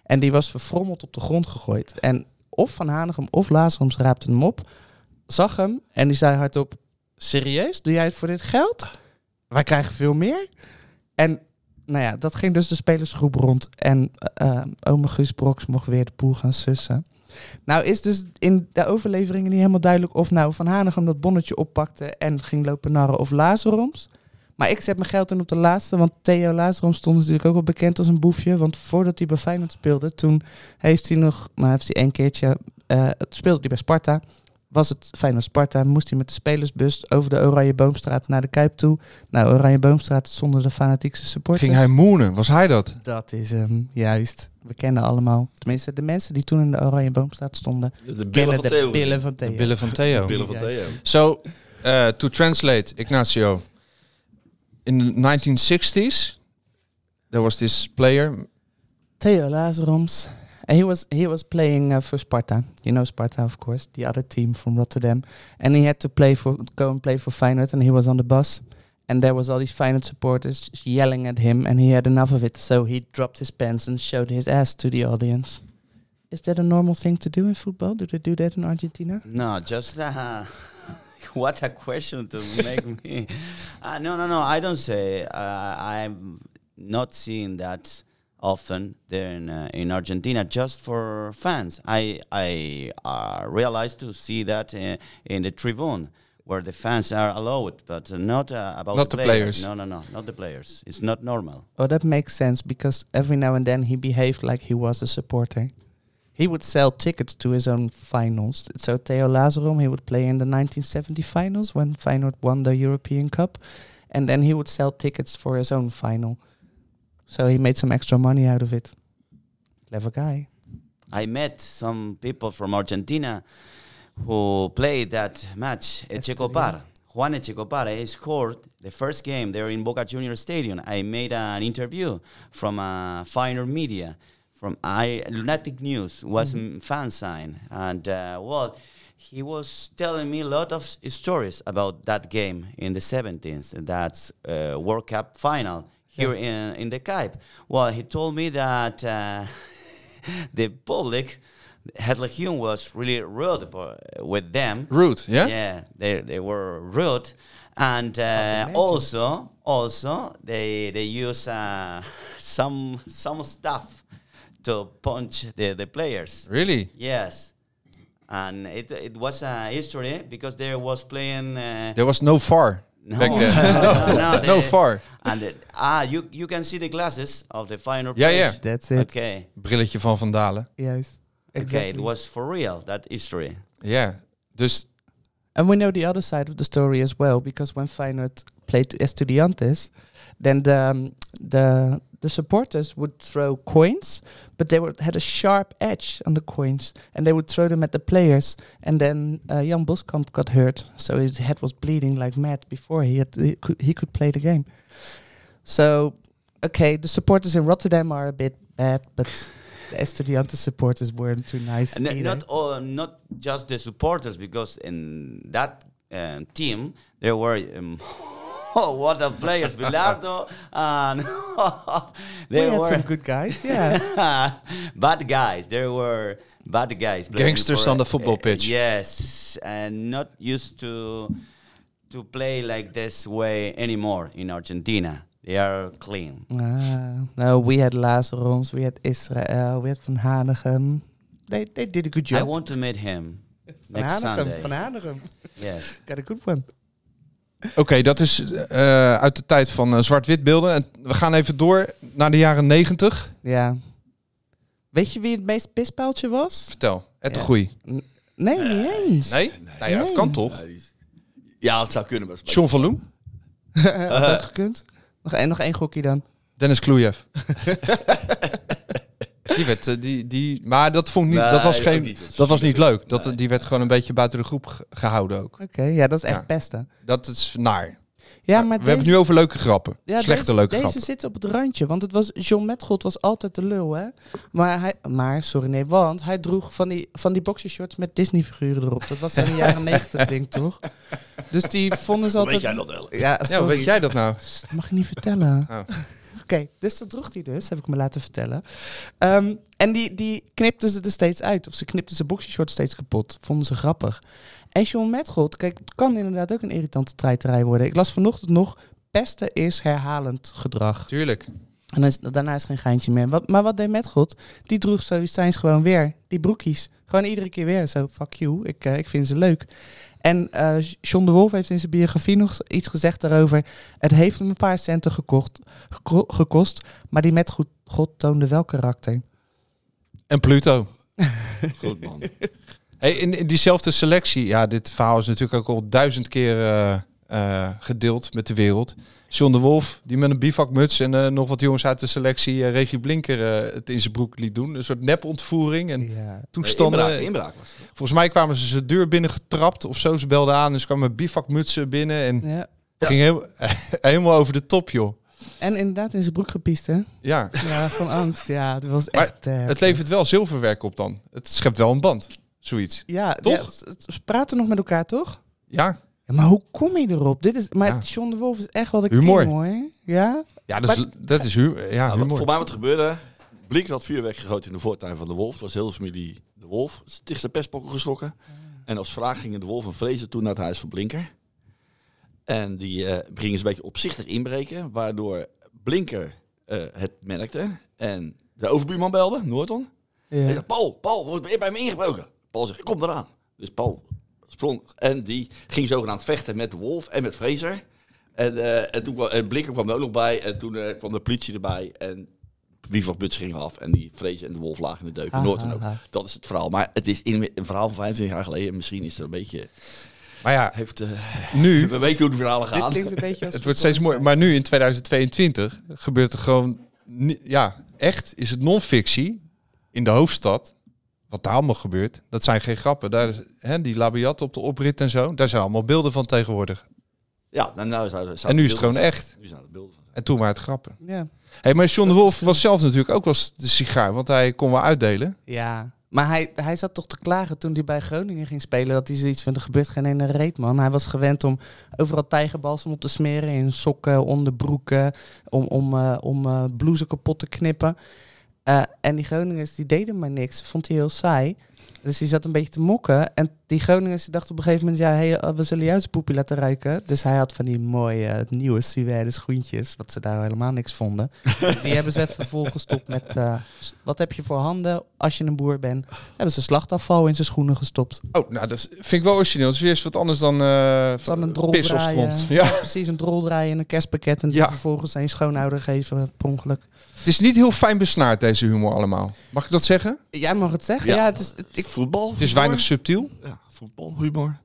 En die was verfrommeld op de grond gegooid. En of Van Hanegem of Lazaroms raapte hem op, zag hem en die zei hardop, serieus? Doe jij het voor dit geld? Wij krijgen veel meer. En nou ja, dat ging dus de spelersgroep rond. En ome Guus Broks mocht weer de boel gaan sussen. Nou is dus in de overleveringen niet helemaal duidelijk of nou Van Hanegem dat bonnetje oppakte en ging lopen narren of Lazaroms. Maar ik zet mijn geld in op de laatste, want Theo Lazaroms stond natuurlijk ook wel bekend als een boefje. Want voordat hij bij Feyenoord speelde, toen heeft hij één keertje, speelde hij bij Sparta. Was het Feyenoord-Sparta, moest hij met de spelersbus over de Oranje Boomstraat naar de Kuip toe. Nou, Oranje Boomstraat zonder de fanatiekste supporters. Ging hij moenen? Was hij dat? Dat is hem, juist. We kennen allemaal. Tenminste, de mensen die toen in de Oranje Boomstraat stonden. De billen van Theo. Billen van Theo. De billen van Theo. Billen van Theo. So, to translate, Ignacio. In the 1960s, there was this player. Theo Lazaroms. He was playing for Sparta. You know Sparta, of course, the other team from Rotterdam. And he had to go and play for Feyenoord, and he was on the bus. And there was all these Feyenoord supporters yelling at him, and he had enough of it. So he dropped his pants and showed his ass to the audience. Is that a normal thing to do in football? Do they do that in Argentina? No, just what a question to make me. No. I don't say. I'm not seeing that often there in Argentina, just for fans. I realized to see that in the tribune, where the fans are allowed, but not about Not the the players. players. No, not the players. It's not normal. Oh, that makes sense, because every now and then he behaved like he was a supporter. He would sell tickets to his own finals. So Theo Lazarom, he would play in the 1970 finals when Feyenoord won the European Cup. And then he would sell tickets for his own final. So he made some extra money out of it. Clever guy. I met some people from Argentina who played that match. Echecopar. Juan Echecopar, he scored the first game there in Boca Juniors Stadium. I made an interview from Feyenoord Media, from Lunatic News, was fan sign. And, he was telling me a lot of stories about that game in the 70s, that's World Cup final here in the Kuip. Well, he told me that the public, Het Legioen was really rude with them. Rude, yeah? Yeah, they were rude. And also they use some stuff to punch the players. Really? Yes. And it was a history because there was playing... There was no VAR back then. No VAR. And you can see the glasses of the final Yeah, players. yeah. That's it. Okay. Brilletje van Van Dalen. Yes. Okay, it was for real, that history. Ja, dus... And we know the other side of the story as well, because when Feyenoord played Estudiantes, then the supporters would throw coins, but they had a sharp edge on the coins, and they would throw them at the players. And then Jan Boskamp got hurt, so his head was bleeding like mad before he could play the game. So, okay, the supporters in Rotterdam are a bit bad, but the Estudiantes supporters weren't too nice. And either. not just the supporters, because in that team there were what a players, Bilardo, and we had some good guys, yeah. bad guys. There were bad guys. Gangsters on the football pitch. Yes, and not used to play like this way anymore in Argentina. They are clean. No, we had Lazaroms, we had Israel, we had Van Hanegem. They did a good job. I want to meet him next Sunday. Van Hanegem. Yes. Got a good one. Oké, dat is uit de tijd van zwart-wit beelden. En we gaan even door naar de jaren 90. Ja. Weet je wie het meest pispaaltje was? Vertel, Ed de Ja. Goeie. Nee, niet eens. Nee? Nou ja, dat kan toch? Ja, dat zou kunnen. Maar John van Loen? Had ook gekund. Nog één gokje dan. Dennis Klujev. Die werd, maar dat vond ik niet, Nee, dat was ook geen, niet. dat was niet leuk. Dat, Nee. Die werd gewoon een beetje buiten de groep gehouden ook. Oké, ja, dat is echt Ja. pesten. Dat is naar. Ja, we maar hebben het nu over leuke grappen. ja, Slechte leuke deze grappen. zit op het randje, want het was John Metgold was altijd de lul, hè? Want hij droeg van die boxershorts met Disney-figuren erop. Dat was in de jaren 90 ding, toch? Dus die vonden ze Hoe altijd. weet jij dat wel? Ja, Ja, sorry. hoe weet jij dat nou? Dat mag je niet vertellen. Oh. Kijk, Oké, dus dat droeg hij dus, heb ik me laten vertellen. En die knipten ze er steeds uit. Of ze knipten zijn boxershort steeds kapot. Vonden ze grappig. En John Metgold, kijk, het kan inderdaad ook een irritante treiterij worden. Ik las vanochtend nog, pesten is herhalend gedrag. Tuurlijk. En daarna is geen geintje meer. Maar wat deed Metgold? Die droeg Stoïcijns gewoon weer. Die broekies. Gewoon iedere keer weer. Zo, fuck you. Ik vind ze leuk. En John de Wolf heeft in zijn biografie nog iets gezegd daarover. Het heeft hem een paar centen gekost. Maar die Metgold toonde wel karakter. En Pluto. Goed man. Hey, in diezelfde selectie, ja, dit verhaal is natuurlijk ook al 1000 keer gedeeld met de wereld. John de Wolf, die met een bivakmuts en nog wat jongens uit de selectie Regie Blinker het in zijn broek liet doen. Een soort nepontvoering en toestanden. Inbraak was het. Volgens mij kwamen ze zijn deur binnen getrapt of zo. Ze belden aan en ze kwamen met bivakmutsen binnen en ging helemaal over de top, joh. En inderdaad in zijn broek gepiest, hè? Ja. Ja, van angst. Ja, dat was Maar echt... het levert wel zilverwerk op dan. Het schept wel een band, zoiets. Ja, toch? Ze praten nog met elkaar, toch? Ja. Ja, maar hoe kom je erop? Maar Ja. John de Wolf is echt wel de Humor. king, hoor. Ja? Ja, dat is humor. Voor mij wat er gebeurde, Blinker had vuurwerk gegooid in de voortuin van de Wolf. Het was heel de familie de Wolf. Het is tegen de pestpokken geschrokken. En als vraag gingen de Wolf en Vrezen toen naar het huis van Blinker. En die gingen ze een beetje opzichtig inbreken, waardoor Blinker het merkte. En de overbuurman belde, Noorton. Ja. En zei, Paul, ben je bij me ingebroken? Paul zegt, kom eraan. Dus Paul sprong en die ging zogenaamd vechten met de Wolf en met Fraser. En toen kwam Blinker kwam er ook nog bij en toen kwam de politie erbij en bivakmuts ging af en die Fraser en de Wolf lagen in de deuk. En Noorton ook. Dat is het verhaal. Maar het is een verhaal van 25 jaar geleden. Misschien is er een beetje... Maar ja, nu... We weten hoe de verhalen gaan. Dit klinkt een beetje als het wordt steeds mooi. Maar nu in 2022 gebeurt er gewoon... echt is het non-fictie in de hoofdstad. Wat daar allemaal gebeurt, dat zijn geen grappen. Daar is, die labiat op de oprit en zo, daar zijn allemaal beelden van tegenwoordig. Ja, en nu is het gewoon echt. Nu zijn het beelden van. En toen maar het grappen. Ja. Hey, maar John de Wolf was zelf natuurlijk ook wel de sigaar, want hij kon wel uitdelen. Ja, maar hij zat toch te klagen toen hij bij Groningen ging spelen, dat hij zoiets van, er gebeurt geen ene reet, man. Hij was gewend om overal tijgerbalsem op te smeren, in sokken, onderbroeken, om blouses kapot te knippen. En die Groningers, die deden maar niks. Vond hij heel saai. Dus die zat een beetje te mokken. En die Groningers die dachten op een gegeven moment... we zullen jou zijn poepie laten ruiken. Dus hij had van die mooie nieuwe suède schoentjes. Wat ze daar helemaal niks vonden. Die hebben ze even volgestopt met... wat heb je voor handen als je een boer bent? Hebben ze slachtafval in zijn schoenen gestopt. Oh, nou, dat vind ik wel origineel. Dat is weer wat anders dan een drol pis op draaien. stront. Ja, precies. Een drol draaien en een kerstpakket. En die vervolgens aan je schoonouder geven per ongeluk. Het is niet heel fijn besnaard, deze humor allemaal. Mag ik dat zeggen? Jij mag het zeggen. Ja, het is voetbal. Het is weinig subtiel. Ja, voetbal, humor.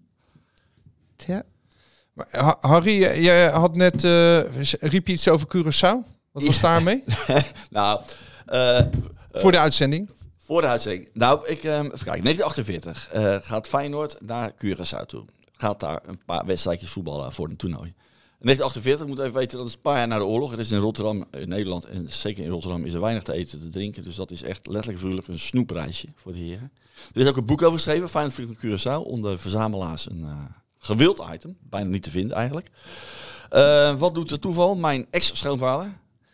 Ja. Maar, Harry, jij had net... riep je iets over Curaçao? Wat was daarmee? Nou... voor de uitzending? Voor de uitzending. Nou, even kijken. 1948 gaat Feyenoord naar Curaçao toe. Gaat daar een paar wedstrijdjes voetballen voor een toernooi. In 1948, moet even weten, dat is een paar jaar na de oorlog. Het is in Rotterdam, in Nederland en zeker in Rotterdam is er weinig te eten, te drinken. Dus dat is echt letterlijk figuurlijk een snoepreisje voor de heren. Er is ook een boek over geschreven, Feyenoord vliegt naar Curaçao, onder verzamelaars een gewild item. Bijna niet te vinden eigenlijk. Wat doet het toeval? Mijn ex-schoonvader,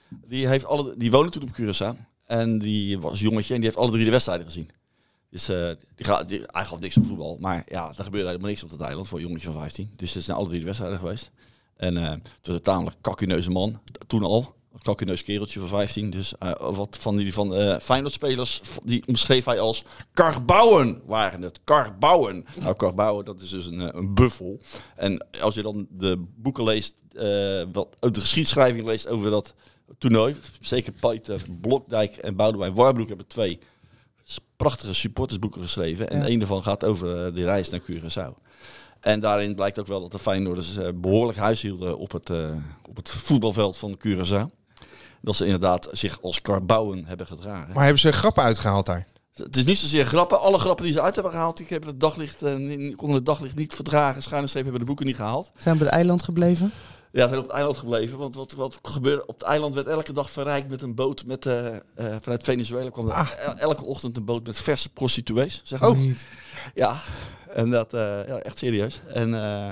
die woonde toen op Curaçao. En die was jongetje en die heeft alle 3 de wedstrijden gezien. Dus hij gaf niks op voetbal. Maar ja, er gebeurde helemaal niks op dat eiland voor een jongetje van 15. Dus er zijn alle 3 de wedstrijden geweest. En het was een tamelijk kakkuneuze man. Toen al. Een kakkuneus kereltje van 15. Dus wat van Feyenoord-spelers, die omschreef hij als karbouwen waren het. Karbouwen. Nou, karbouwen, dat is dus een buffel. En als je dan de boeken leest, de geschiedschrijving leest over dat toernooi. Zeker Pieter Blokdijk en Boudewijn Warbroek hebben 2 prachtige supportersboeken geschreven. En een daarvan gaat over de reis naar Curaçao. En daarin blijkt ook wel dat de Feyenoorders behoorlijk huis hielden op het voetbalveld van Curaçao. Dat ze inderdaad zich als karbouwen hebben gedragen. Maar hebben ze grappen uitgehaald daar? Het is niet zozeer grappen. Alle grappen die ze uit hebben gehaald, die hebben konden het daglicht niet verdragen. Schuine streep hebben de boeken niet gehaald. Zijn we op het eiland gebleven? Ja, ze zijn op het eiland gebleven. Want wat gebeurde? Op het eiland werd elke dag verrijkt met een boot vanuit Venezuela. Kwam er elke ochtend een boot met verse prostituees. Zeg maar. Niet. Ja, en dat echt serieus. En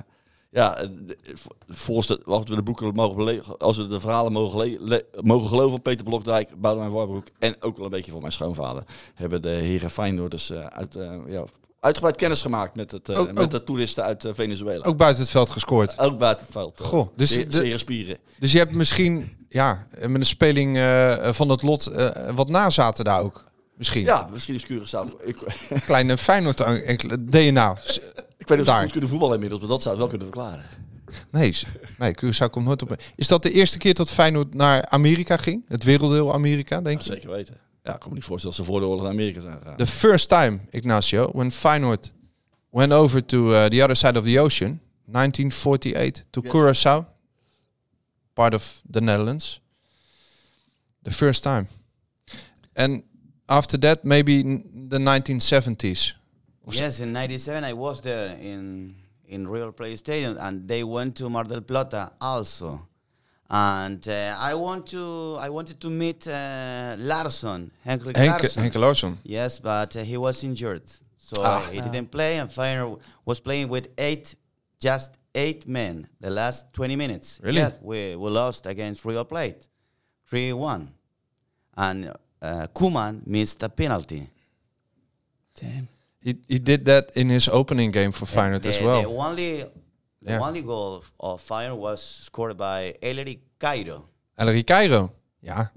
volgens wat we de boeken als we de verhalen mogen geloven van Peter Blokdijk, Boudewijn Warbroek en ook wel een beetje van mijn schoonvader, hebben de heren Feyenoorders uitgebreid kennis gemaakt met de toeristen uit Venezuela. Ook buiten het veld gescoord. Ook buiten het veld. Goh, dus zeer spieren. Dus je hebt misschien, met een speling van het lot, wat nazaten daar ook. Misschien. Ja, misschien is Curaçao. Kleine Feyenoord DNA. Ik weet niet of ze goed kunnen voetballen inmiddels, maar dat zou het wel kunnen verklaren. Nee, Curaçao komt nooit op. Is dat de eerste keer dat Feyenoord naar Amerika ging? Het werelddeel Amerika, denk je? Zeker weten. Ja, ik kan me niet voorstellen dat ze voor de oorlog naar Amerika zijn gegaan. The first time, Ignacio, when Feyenoord went over to the other side of the ocean, 1948, to Curaçao, part of the Netherlands. The first time. And after that, maybe the 1970s. Yes, in '97 I was there in River Plate Stadium, and they went to Mar del Plata also. And I wanted to meet Larsson, Henke Larsson. Yes, but he was injured, so he didn't play. And Feyenoord was playing with just eight men. The last 20 minutes. Really? Yeah, we lost against River Plate, 3-1, and Koeman missed a penalty. Damn. He did that in his opening game for Feyenoord as well. The only goal of Feyenoord was scored by Ellery Cairo. Ellery Cairo, ja.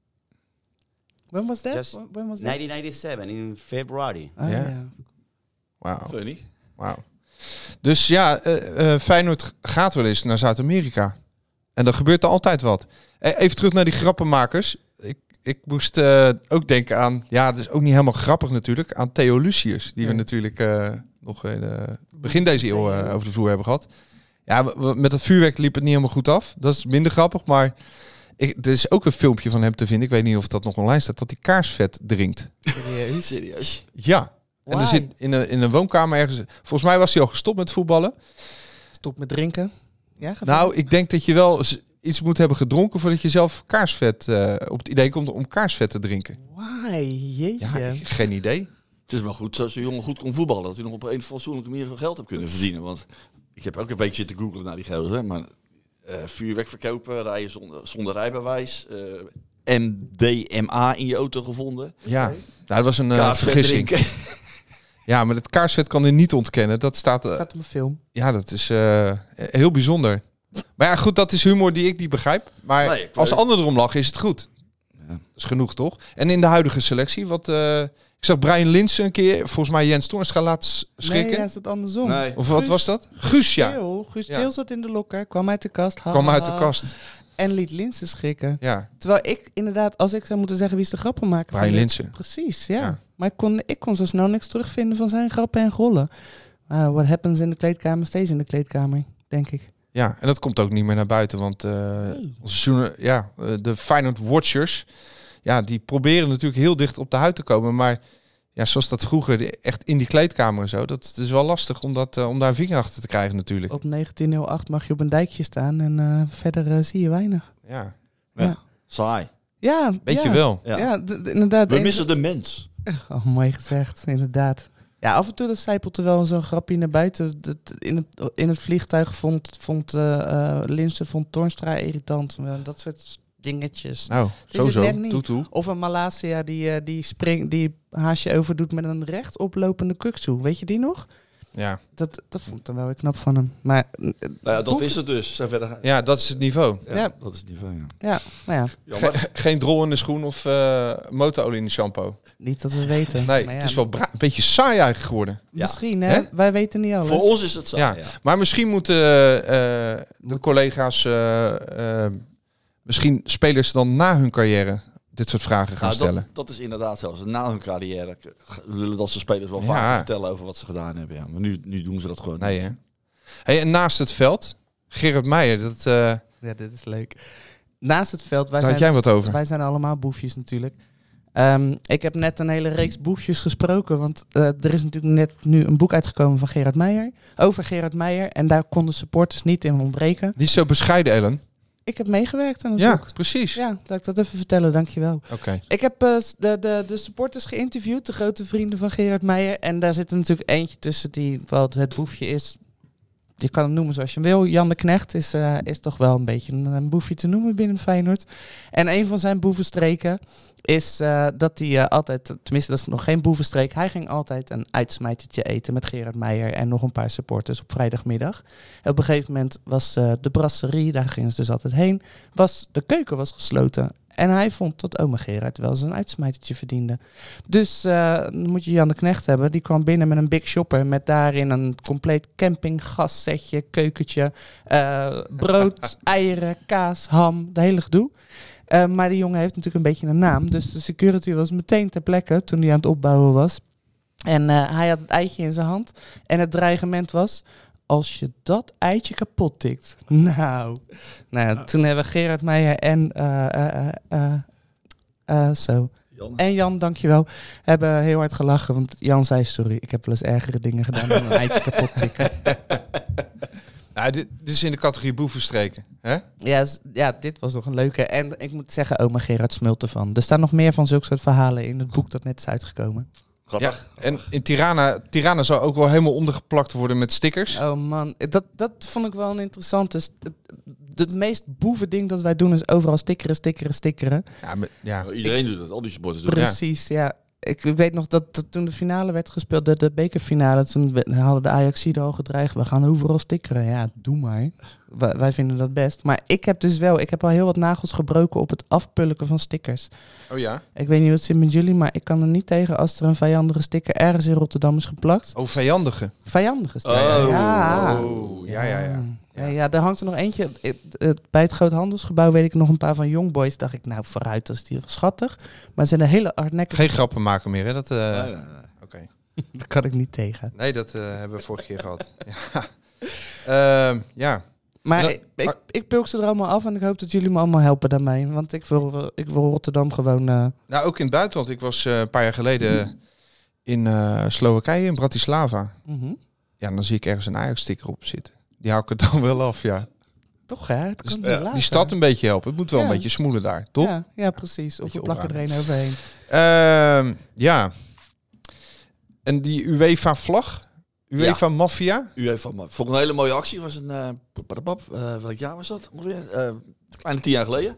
When was that? Just When was that? 1997 in February. Oh, Ja. ja. Wauw. Funny. Wow. Dus Feyenoord gaat wel eens naar Zuid-Amerika. En dan gebeurt er altijd wat. Even terug naar die grappenmakers. Ik moest ook denken aan... Ja, het is ook niet helemaal grappig natuurlijk. Aan Theo Lucius. Die we natuurlijk nog in begin deze eeuw over de vloer hebben gehad. Ja, met het vuurwerk liep het niet helemaal goed af. Dat is minder grappig. Maar er is ook een filmpje van hem te vinden. Ik weet niet of dat nog online staat. Dat hij kaarsvet drinkt. Serieus? Ja. En er zit in een woonkamer ergens... Volgens mij was hij al gestopt met voetballen. Stop met drinken. Ja, Nou, ik denk dat je wel iets moet hebben gedronken voordat je zelf kaarsvet op het idee komt om kaarsvet te drinken. Why? Jeetje. Ja, geen idee. Het is wel goed dat zo'n jongen goed kon voetballen. Dat hij nog op een fatsoenlijke manier veel geld heeft kunnen verdienen. Want ik heb ook een week zitten googlen naar die gozer. Maar vuurwerk verkopen, rijden zonder rijbewijs. MDMA in je auto gevonden. Ja, nou, dat was een Kaarsvet vergissing. drinken. Ja, maar het kaarsvet kan hij niet ontkennen. Dat staat... staat op een film. ja, dat is heel bijzonder. Maar ja, goed, dat is humor die ik niet begrijp. Maar Nee, als anderen erom lachen, is het goed. Ja. Dat is genoeg, toch? En in de huidige selectie, ik zag Brian Linssen een keer, volgens mij Jens Toornstra laten schrikken. Nee, ja, is het andersom. Nee. Of wat was dat? Guus, ja. Guus Ja. Til zat in de lokker, kwam uit de kast. Kwam uit de kast. En liet Linssen schrikken. Ja, Terwijl ik inderdaad, als ik zou moeten zeggen wie is de grappenmaker... Brian Linssen. Precies, ja. Ja. Maar ik kon zo snel niks terugvinden van zijn grappen en grollen. What happens in de kleedkamer, steeds in de kleedkamer, denk ik. Ja, en dat komt ook niet meer naar buiten, want de Feyenoord Watchers, ja, die proberen natuurlijk heel dicht op de huid te komen, maar ja, zoals dat vroeger, echt in die kleedkamer en zo, dat is wel lastig om daar een vinger achter te krijgen natuurlijk. Op 1908 mag je op een dijkje staan en verder zie je weinig. Ja, Saai. Ja, beetje ja. wel. Ja. Ja, inderdaad. We missen de mens. Oh, mooi gezegd, inderdaad. Ja, af en toe dat zijpelt er wel zo'n grapje naar buiten. In het vliegtuig vond Linssen Toornstra irritant. Dat soort dingetjes. Nou, Het is het net sowieso. niet. Toe. Of een Malasia die haasje overdoet met een recht oplopende kuksu. Weet je die nog? Ja. Dat vond ik dan wel weer knap van hem. Maar Nou ja, dat is het dus. Zijn verder Ja, dat is het niveau. ja, dat is het niveau, ja. ja, nou ja, Jammer. Geen drol in de schoen of motorolie in de shampoo. niet dat we weten. Nee, Maar ja, het is wel een beetje saai eigenlijk geworden. misschien, Hè? hè? Wij weten niet alles. Voor ons is het saai, Ja, ja. maar misschien moeten de collega's, misschien spelers dan na hun carrière dit soort vragen gaan Nou, stellen. dat is inderdaad zelfs. Na hun carrière willen dat ze spelers wel Ja. vaker vertellen over wat ze gedaan hebben. Ja. Maar nu doen ze dat gewoon Nee, niet. hè? Hey, en naast het veld, Gerard Meijer, Ja, dit is leuk. Naast het veld, daar had jij wat over. wij zijn allemaal boefjes natuurlijk. Ik heb net een hele reeks boefjes gesproken, want er is natuurlijk net nu een boek uitgekomen van Gerard Meijer, over Gerard Meijer, en daar konden supporters niet in ontbreken. Niet zo bescheiden, Ellen. Ik heb meegewerkt aan het Ja, boek. precies. Ja, laat ik dat even vertellen, dankjewel. Oké. Ik heb de supporters geïnterviewd, de grote vrienden van Gerard Meijer, en daar zit er natuurlijk eentje tussen die wel het boefje is, je kan hem noemen zoals je wil. Jan de Knecht is toch wel een beetje een boefje te noemen binnen Feyenoord. En een van zijn boevenstreken is dat hij altijd, tenminste dat is nog geen boevenstreek, hij ging altijd een uitsmijtertje eten met Gerard Meijer en nog een paar supporters op vrijdagmiddag. En op een gegeven moment was de brasserie, daar gingen ze dus altijd heen, de keuken was gesloten. En hij vond dat oma Gerard wel eens een uitsmijtertje verdiende. Dus dan moet je Jan de Knecht hebben. Die kwam binnen met een big shopper. Met daarin een compleet campinggassetje, keukentje, brood, eieren, kaas, ham, de hele gedoe. Maar die jongen heeft natuurlijk een beetje een naam. Dus de security was meteen ter plekke toen hij aan het opbouwen was. En hij had het eitje in zijn hand. En het dreigement was: als je dat eitje kapot tikt. Nou ja, toen hebben Gerard Meijer en Jan. En Jan, dankjewel, hebben heel hard gelachen. Want Jan zei, sorry, ik heb wel eens ergere dingen gedaan dan een eitje kapot tikken. Nou, dit is in de categorie boevenstreken. Hè? Ja, dit was nog een leuke. En ik moet zeggen, oma Gerard smult ervan. Er staan nog meer van zulke soort verhalen in het boek dat net is uitgekomen. Grappig. Ja, en in Tirana zou ook wel helemaal ondergeplakt worden met stickers. Oh man, dat vond ik wel een interessante. Het meest boeven ding dat wij doen is overal stickeren. Ja, Iedereen doet het, al die supporters doen het. Precies, ja. Ik weet nog dat toen de finale werd gespeeld, de bekerfinale, toen hadden de Ajaxiden al gedreigd, we gaan overal stickeren. Ja, doe maar. Wij vinden dat best. Maar ik heb al heel wat nagels gebroken op het afpulken van stickers. Oh ja? Ik weet niet wat het zit met jullie, maar ik kan er niet tegen als er een vijandige sticker ergens in Rotterdam is geplakt. Oh, vijandige. Vijandige sticker. Ja. Ja, er hangt er nog eentje. Bij het Groothandelsgebouw weet ik nog een paar van Youngboys. Dacht ik, nou vooruit, dat is die wel schattig. Maar ze zijn een hele hardnekkige... Geen grappen maken meer, hè? Dat, Nee. Oké. Daar kan ik niet tegen. Nee, dat hebben we vorige keer gehad. Ja. Ja. Maar ik pulk ze er allemaal af en ik hoop dat jullie me allemaal helpen daarmee. Want ik wil Rotterdam gewoon... Nou, ook in het buitenland. Ik was een paar jaar geleden in Slowakije, in Bratislava. Ja, dan zie ik ergens een Ajax-sticker op zitten. Die hou ik het dan wel af, ja. Toch, hè? Het kan Dus, die stad een beetje helpen. Het moet wel een beetje smoelen daar, toch? Ja, precies. Of we plakken er een overheen. Ja. En die UEFA-vlag? UEFA-maffia? UEFA-maffia. Vond ik een hele mooie actie. Was een... welk jaar was dat? Kleine 10 jaar geleden.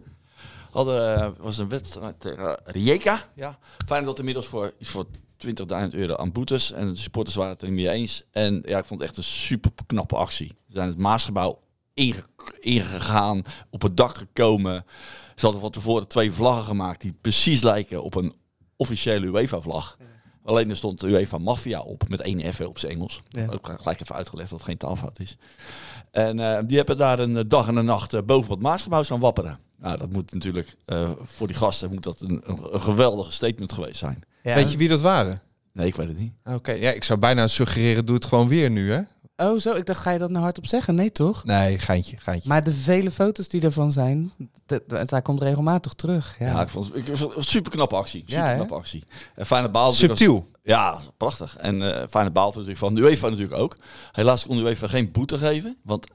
Was een wedstrijd tegen Rijeka. Ja. Fijn dat inmiddels voor €20.000 aan boetes. En de supporters waren het er niet mee eens. En ja, ik vond het echt een super knappe actie. Ze zijn het Maasgebouw ingegaan, op het dak gekomen. Ze hadden van tevoren 2 vlaggen gemaakt die precies lijken op een officiële UEFA-vlag. Ja. Alleen er stond de UEFA Mafia op, met 1 F op zijn Engels. Ja. Ook gelijk even uitgelegd dat het geen taalfout is. En die hebben daar een dag en een nacht boven het Maasgebouw staan wapperen. Nou, dat moet natuurlijk, voor die gasten moet dat een geweldige statement geweest zijn. Ja. Weet je wie dat waren? Nee, ik weet het niet. Oké, ja, ik zou bijna suggereren, doe het gewoon weer nu, hè? Oh, zo. Ik dacht, ga je dat nou hardop zeggen? Nee, toch? Nee, geintje. Maar de vele foto's die ervan zijn, daar komt regelmatig terug. Ja, ik vond het een super knappe actie. Actie. En Feyenoord baalde subtiel. Ja, prachtig. En Feyenoord baalde natuurlijk van de UEFA natuurlijk ook. Helaas kon de UEFA geen boete geven. Want,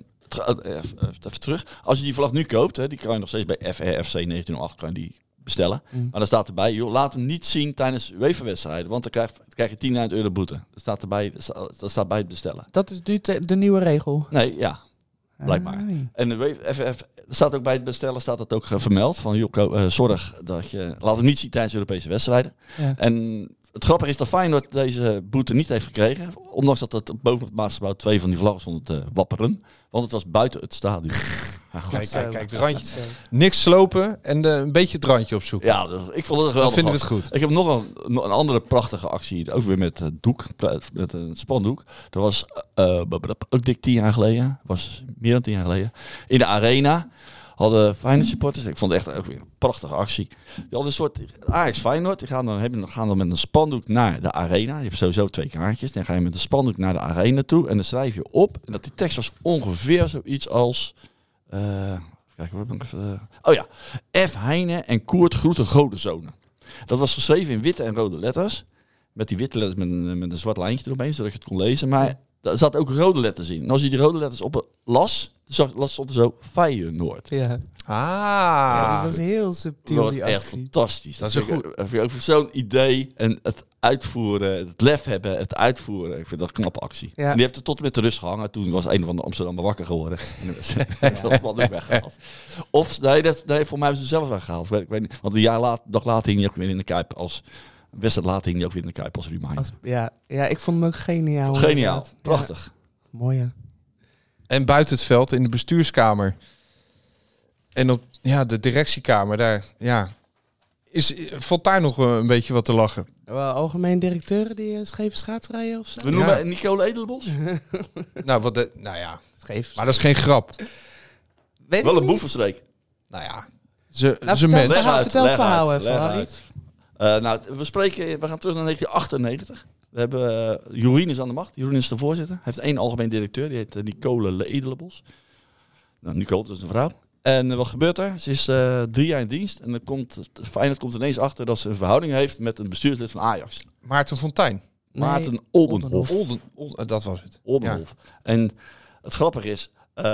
even terug. Als je die vlag nu koopt, hè, die kan je nog steeds bij FRFC 1908 kan je die bestellen. Maar dan staat erbij, joh, laat hem niet zien tijdens UEFA-wedstrijden. Want dan krijg je €10.000 boete. Dat staat bij het bestellen. Dat is nu de nieuwe regel? Nee, ja. Blijkbaar. En er staat ook bij het bestellen staat het ook vermeld. Van, joh, zorg dat je... Laat hem niet zien tijdens Europese wedstrijden. Ja. En het grappige is dat Feyenoord deze boete niet heeft gekregen. Ondanks dat het boven het Maasgebouw 2 van die vlaggen stonden te wapperen. Want het was buiten het stadion. Ja, kijk, de randje. Niks slopen en een beetje het randje opzoeken. Ja, ik vond het geweldig. Dan vinden we het goed. Ik heb nog een andere prachtige actie. Ook weer met doek, met een spandoek. Dat was ook dik 10 jaar geleden. Was meer dan 10 jaar geleden. In de Arena hadden Feyenoord supporters. Ik vond het echt ook weer een prachtige actie. Die hadden een soort Ajax Feyenoord. Die gaan dan met een spandoek naar de Arena. Je hebt sowieso 2 kaartjes. Dan ga je met een spandoek naar de Arena toe. En dan schrijf je op. En dat die tekst was ongeveer zoiets als... Kijk, wat nog even. Oh ja, F. Heine en Koert groeten godenzonen. Dat was geschreven in witte en rode letters. Met die witte letters met een zwart lijntje eromheen, zodat je het kon lezen. Maar Daar zat ook rode letters in. En als je die rode letters op las stond er zo Feyenoord. Ja. Ah. Dat was heel subtiel, Dat die was echt actie. fantastisch. Dat is een goed. Vind ik ook zo'n idee en het uitvoeren, het lef hebben, het uitvoeren. Ik vind dat een knappe actie. Ja. En die heeft er tot en met de rust gehangen. Toen was een van de Amsterdammer wakker geworden. En dat man ook weggehaald. Of, nee, voor mij hebben ze zelf weggehaald. Ik weet niet, want een dag later hing hij ook weer in de Kuip als... Een wedstrijd later hing hij ook weer in de Kuip als reminder. Ja, ik vond hem ook geniaal. Geniaal, inderdaad. prachtig. Ja, mooi, ja. En buiten het veld, in de bestuurskamer. En op de directiekamer, daar, valt daar nog een beetje wat te lachen. Algemeen directeuren die scheve schaatsrijden of zo? We noemen Nicole Edelbos. Scheef. Maar dat is geen grap. Weet Wel ik een niet. boevenstreek. Ze vertel mens. vertel het verhaal even, leg Harry. uit. We gaan terug naar 1998. We hebben Jorien is aan de macht. Jorien is de voorzitter. Hij heeft 1 algemeen directeur. Die heet Nicole Edelenbos. Nou, Nicole, dat is een vrouw. En wat gebeurt er? Ze is 3 jaar in dienst. En Feyenoord komt ineens achter dat ze een verhouding heeft met een bestuurslid van Ajax. Maarten Fontijn. Maarten Oldenhof. Dat was het. Oldenhof. En het grappige is,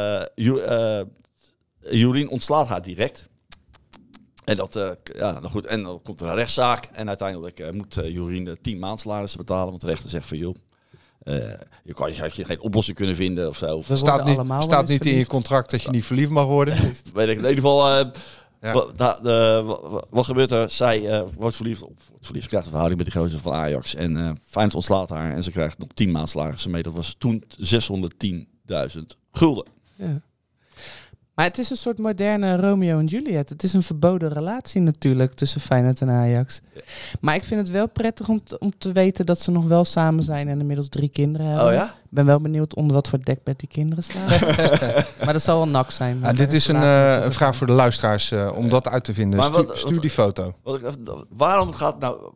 Jorien ontslaat haar direct. En goed. En dan komt er een rechtszaak. En uiteindelijk moet Jorien 10 maandsalarissen betalen. Want de rechter zegt van joh, je had geen oplossing kunnen vinden of zo. Staat niet in je contract dat je niet verliefd mag worden. Weet ik in ieder geval. Wat gebeurt er? Zij wordt verliefd, krijgt een verhouding met die gozer van Ajax. En Feyenoord ontslaat haar en ze krijgt nog 10 maandsalarissen mee. Dat was toen 610.000 gulden. Ja. Maar het is een soort moderne Romeo en Juliet. Het is een verboden relatie natuurlijk tussen Feyenoord en Ajax. Ja. Maar ik vind het wel prettig om te weten dat ze nog wel samen zijn en inmiddels 3 kinderen hebben. Oh ja? Ik ben wel benieuwd onder wat voor dekbed die kinderen slapen. Maar dat zal wel nak zijn. Ja, dit is een vraag voor de luisteraars om dat uit te vinden. Maar Stuur die foto. Waarom gaat nou...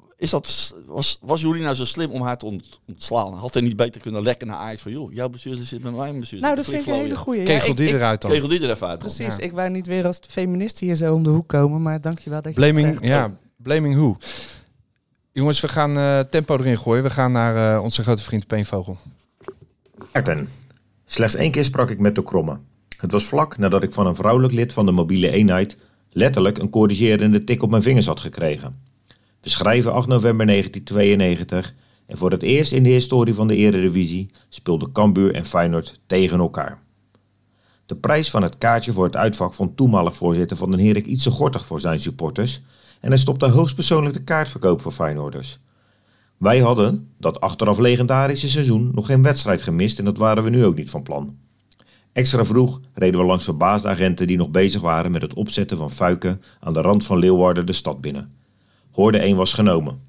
Was Jorien nou zo slim om haar te ontslaan? Had hij niet beter kunnen lekken naar Ajax van... joh, jouw bestuurder zit met mijn bestuurder. Nou, dat vind ik een hele goeie. Kegel die eruit dan. Kegel die er even uit. Precies, ik wou niet weer als feminist hier zo om de hoek komen. Maar dankjewel dat je het zegt. Ja, blaming who? Jongens, we gaan tempo erin gooien. We gaan naar onze grote vriend Peenvogel. Maarten. Slechts 1 keer sprak ik met de Kromme. Het was vlak nadat ik van een vrouwelijk lid van de mobiele eenheid... letterlijk een corrigerende tik op mijn vingers had gekregen. We schrijven 8 november 1992 en voor het eerst in de historie van de Eredivisie speelden Cambuur en Feyenoord tegen elkaar. De prijs van het kaartje voor het uitvak vond toenmalig voorzitter Van den Herik iets te gortig voor zijn supporters en hij stopte hoogstpersoonlijk de kaartverkoop voor Feyenoorders. Wij hadden dat achteraf legendarische seizoen nog geen wedstrijd gemist en dat waren we nu ook niet van plan. Extra vroeg reden we langs verbaasde agenten die nog bezig waren met het opzetten van fuiken aan de rand van Leeuwarden de stad binnen. Hoorde 1 was genomen.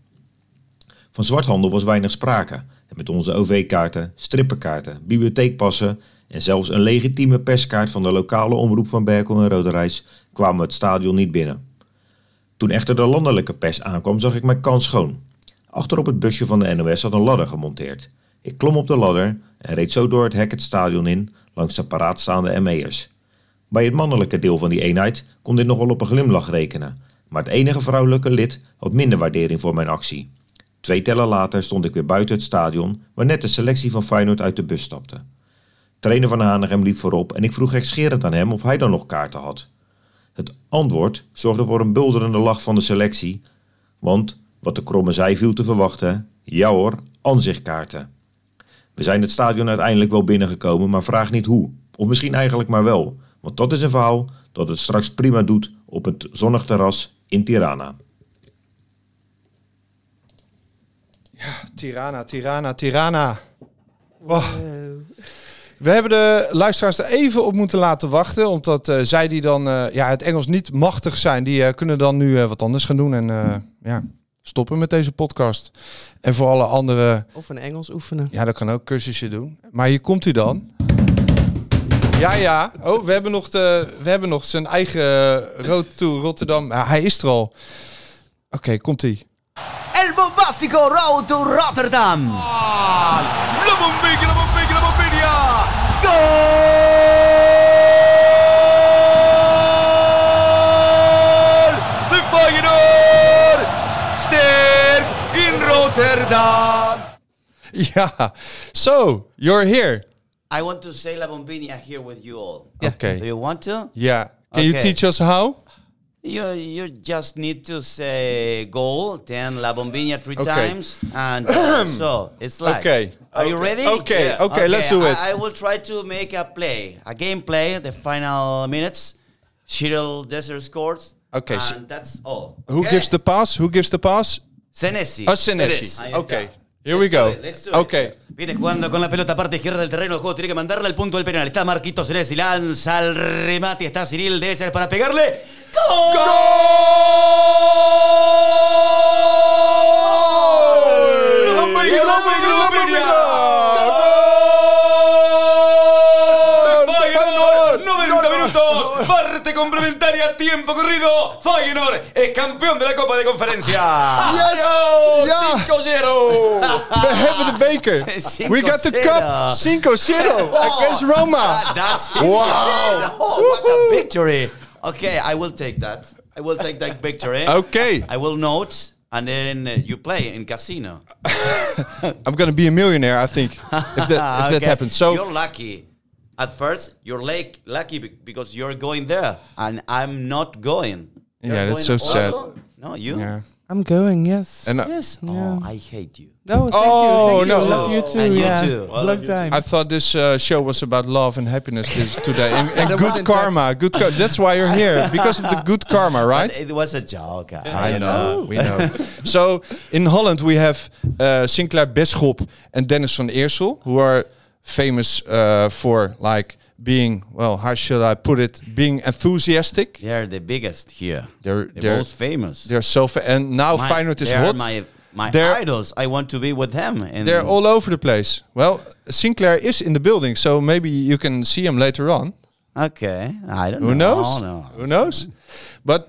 Van zwarthandel was weinig sprake. En met onze OV-kaarten, strippenkaarten, bibliotheekpassen en zelfs een legitieme perskaart van de lokale omroep van Berkel en Roderijs kwamen we het stadion niet binnen. Toen echter de landelijke pers aankwam, zag ik mijn kans schoon. Achter op het busje van de NOS had een ladder gemonteerd. Ik klom op de ladder en reed zo door het hek het stadion in langs de paraatstaande ME'ers. Bij het mannelijke deel van die eenheid kon dit nog wel op een glimlach rekenen. Maar het enige vrouwelijke lid had minder waardering voor mijn actie. 2 tellen later stond ik weer buiten het stadion, waar net de selectie van Feyenoord uit de bus stapte. Trainer van Hanegem liep voorop en ik vroeg gekscherend aan hem of hij dan nog kaarten had. Het antwoord zorgde voor een bulderende lach van de selectie, want wat de Kromme zei viel te verwachten. Ja hoor, aanzichtkaarten. We zijn het stadion uiteindelijk wel binnengekomen, maar vraag niet hoe. Of misschien eigenlijk maar wel, want dat is een verhaal dat het straks prima doet op het zonnig terras in Tirana. Ja, Tirana. Wow. We hebben de luisteraars er even op moeten laten wachten. Omdat zij die dan het Engels niet machtig zijn, die kunnen dan nu wat anders gaan doen. En stoppen met deze podcast. En voor alle andere... Of een Engels oefenen. Ja, dat kan ook, cursusje doen. Maar hier komt hij dan. Ja. Oh, we hebben nog zijn eigen Road to Rotterdam. Ja, hij is er al. Oké, komt-ie. El bombastico Road to Rotterdam. La bombilla. Goal! De Feyenoord sterk in Rotterdam. Yeah. So, you're here. I want to say La Bombina here with you all. Yeah. Okay. Do you want to? Yeah. Can you Okay. teach us how? You just need to say goal, then La Bombina 3 Okay. times, and so it's like. Okay. Are you ready? Okay. Okay, let's do it. I will try to make a gameplay, the final minutes. Cyril Desert scores. Okay, and so- that's all. Who Okay? gives the pass? Who gives the pass? Senesi. Senesi. Ahí Okay. está. Here we go. Let's do it. Okay. Viene jugando con la pelota parte izquierda del terreno de juego. Tiene que mandarla al punto del penal. Está Marquito Senesi. Lanza el remate. Está Cyril Desert para pegarle. ¡Gol! ¡La Bombina, la Bombina, la Bombina! ¡Feyenoord! 90 minutos. Parte complementaria. Tiempo corrido. Feyenoord es campeón de la Copa de Conferencia. Yes! Ja! 5-0. We hebben de beker. 5-0. We got the cup. 5-0 against Roma. That's it. Wow. Oh, what a victory. Okay, I will take that. I will take that victory. Okay. I will note, and then you play in casino. I'm going to be a millionaire, I think, if that Okay. happens. So, you're lucky. At first, you're lucky because you're going there, and I'm not going. You're yeah, that's so going sad. also? No, you? Yeah. I'm going, yes. And Yes. Yeah. Oh, I hate you. Oh, thank Oh, you. Thank no. you. Love you too. And you yeah. too. I Long time. I thought this show was about love and happiness today. And That good wasn't karma. That's why you're here. Because of the good karma, right? It was a joke. I know, we know. So in Holland we have Sinclair Bisschop and Dennis van Eersel, who are famous for like being, well, how should I put it, being enthusiastic. They're the biggest here. They're The most famous. They're so and now Feyenoord is they're hot. My They're- idols. I want to be with them. And They're all over the place. Well, Sinclair is in the building, so maybe you can see him later on. Okay, I don't know. Who knows? No. Who knows? But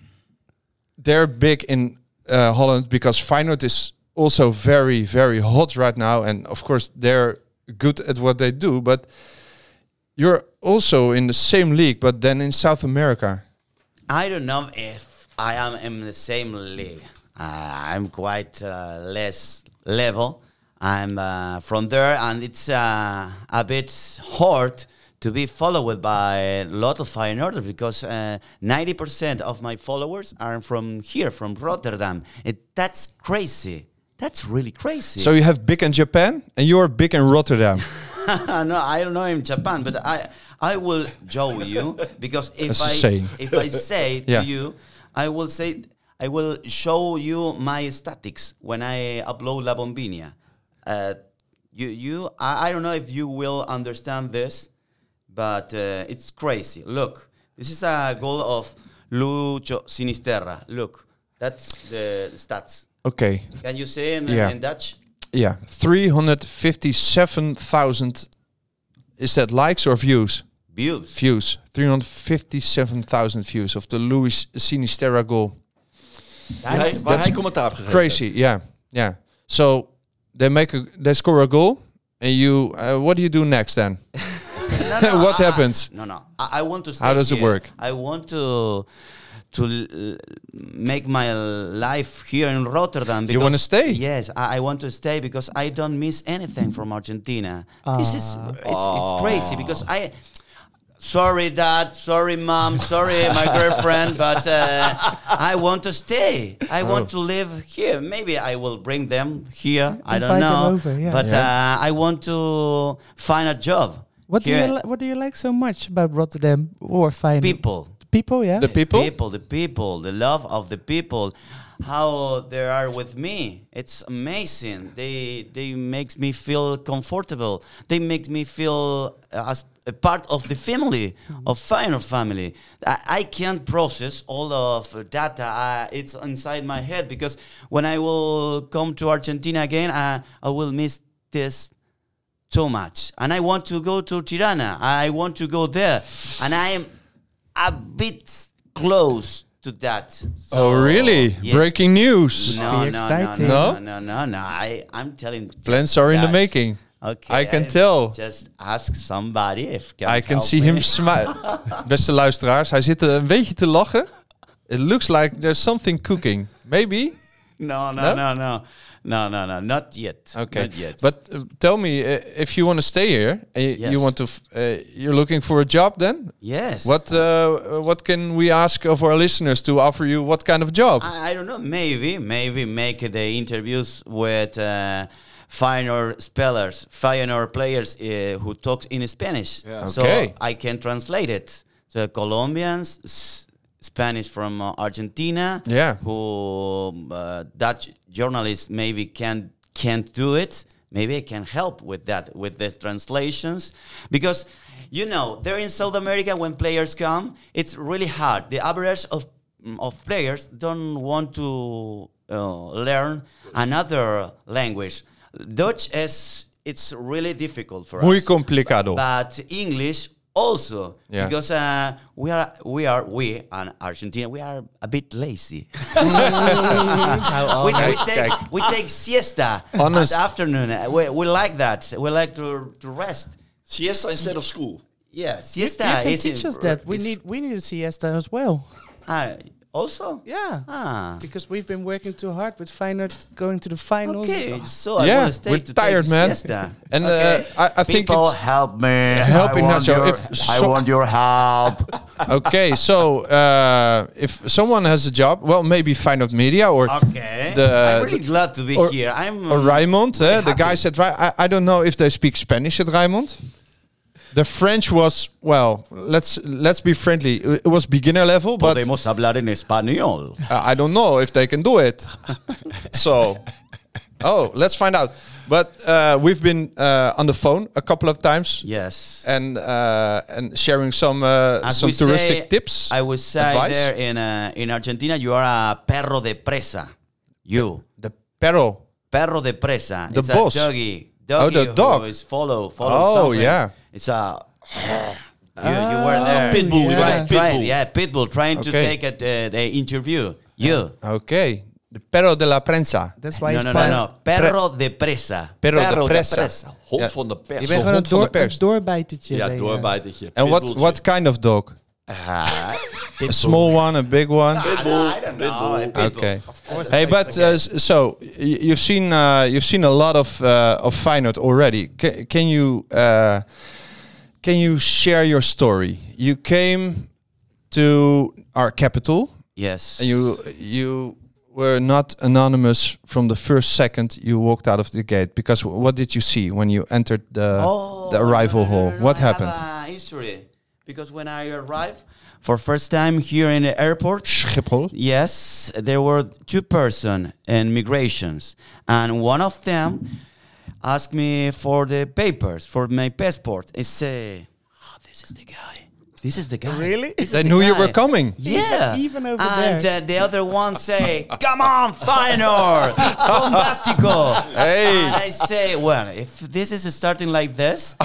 they're big in Holland because Feyenoord is also very, very hot right now. And of course, they're good at what they do. But you're also in the same league, but then in South America. I don't know if I am in the same league. I'm quite less level. I'm from there, and it's a bit hard to be followed by a lot of Feyenoorders because 90% of my followers are from here, from Rotterdam. That's crazy. That's really crazy. So you have big in Japan, and you're big in Rotterdam. No, I don't know in Japan, but I will show you because That's a saying. if I say Yeah. to you, I will show you my statistics when I upload La Bombina. I don't know if you will understand this, but it's crazy. Look, this is a goal of Lucho Sinisterra. Look, that's the stats. Okay. Can you say in Dutch? Yeah. 357,000. Is that likes or views? Views. 357,000 views of the Luis Sinisterra goal. Waar hij commentaar op gegeven. Crazy, yeah. So they score a goal, and you. What do you do next then? What happens? No. I want to stay How does it here. work? I want to make my life here in Rotterdam. You wanna stay? Yes, I want to stay because I don't miss anything from Argentina. This is it's crazy because sorry, Dad. Sorry, Mom. Sorry, my girlfriend. But I want to stay. I want to live here. Maybe I will bring them here. I don't Invite them know. over, yeah. But I want to find a job. What here. do you like so much about Rotterdam or Feyenoord? People. People, yeah. The people? The people, the love of the people, how they are with me. It's amazing. They make me feel comfortable. They make me feel as a part of the family, of Feyenoord family. I can't process all of data. It's inside my head because when I will come to Argentina again, I will miss this so much. And I want to go to Tirana. I want to go there. And I am a bit close to that. So, Oh, really? yes. Breaking news. No. exciting. No? I'm telling. Plans are in the guys. making. Okay. I can tell. Just ask somebody if I can help see me. him smile. Beste luisteraars, hij zit een beetje te lachen. It looks like there's something cooking. Maybe? No. No, not yet. Okay, Not yet. but tell me, if you want to stay here, Yes. you want to, you're looking for a job then? yes. What can we ask of our listeners to offer you? What kind of job? I don't know. Maybe make the interviews with Feyenoord players who talk in Spanish. Yeah. So Okay. I can translate it to Colombians, Spanish from Argentina. Yeah. Who Dutch journalists maybe can't do it. Maybe I can help with that, with the translations, because there in South America when players come, it's really hard. The average of players don't want to learn another language. Dutch it's really difficult for Muy us. complicado. But English also, Yeah. because we and Argentina, we are a bit lazy. we take siesta Honest. at afternoon. We like that. We like to rest. Siesta instead of school. Yeah, You siesta can is teach us that. We need a siesta as well. also. Yeah. Because we've been working too hard with Feyenoord going to the finals. Okay, so I Yeah, want to stay we're to tired, take man. siesta. And Okay. I think People, it's help me. Help I want Ignacio. your- If I so- want your help. okay. So if someone has a job, well, maybe Feyenoord Media or Okay. The- I'm really glad to be or- here. I'm or Rijnmond, the happy. guys at I don't know if they speak Spanish at Rijnmond. The French was, well, let's be friendly. It was beginner level, but Podemos hablar en español. I don't know if they can do it. So, let's find out. But we've been on the phone a couple of times Yes. and sharing some As we touristic say- tips. I would say advice. there in Argentina, you are a perro de presa. You. The perro. Perro de presa. The it's boss. a doggy. Oh, the dog. Who is follow Oh, something. yeah. It's a... You were there. Pitbull, yeah. right? Pitbull. Yeah, Pitbull trying to Okay. take the interview. You. Okay. The perro de la prensa. That's why No, it's no, part- no. Perro de presa. Perro de Perro de presa. presa. Hond Ja. van de pers. Je bent gewoon hond van de een pers. doorbijtertje. Ja, ben je. doorbijtertje. And Pitbulltje. what kind of dog? Ah, A small one, a big one? Pitbull. I don't know. Pitbull. Okay. Hey, but so you've seen a lot of Feyenoord already. Can you share your story? You came to our capital, Yes. and you were not anonymous from the first second you walked out of the gate. Because what did you see when you entered the arrival hall? What happened? I have a history. Because when I arrived for first time here in the airport, Schiphol. yes, there were two persons in migrations, and one of them asked me for the papers for my passport. I say, this is the guy. This is the guy. Really? This is They the knew you guy." were coming. Yeah, Even over and there. the other one say, "Come on, Feyenoord, bombastico." Hey. And I say, "Well, if this is starting like this,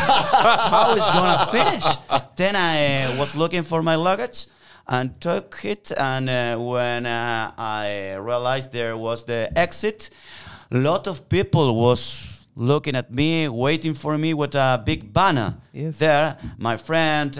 how is gonna finish?" Then I was looking for my luggage and took it. And when I realized there was the exit, a lot of people was looking at me, waiting for me with a big banner. Yes. There, my friend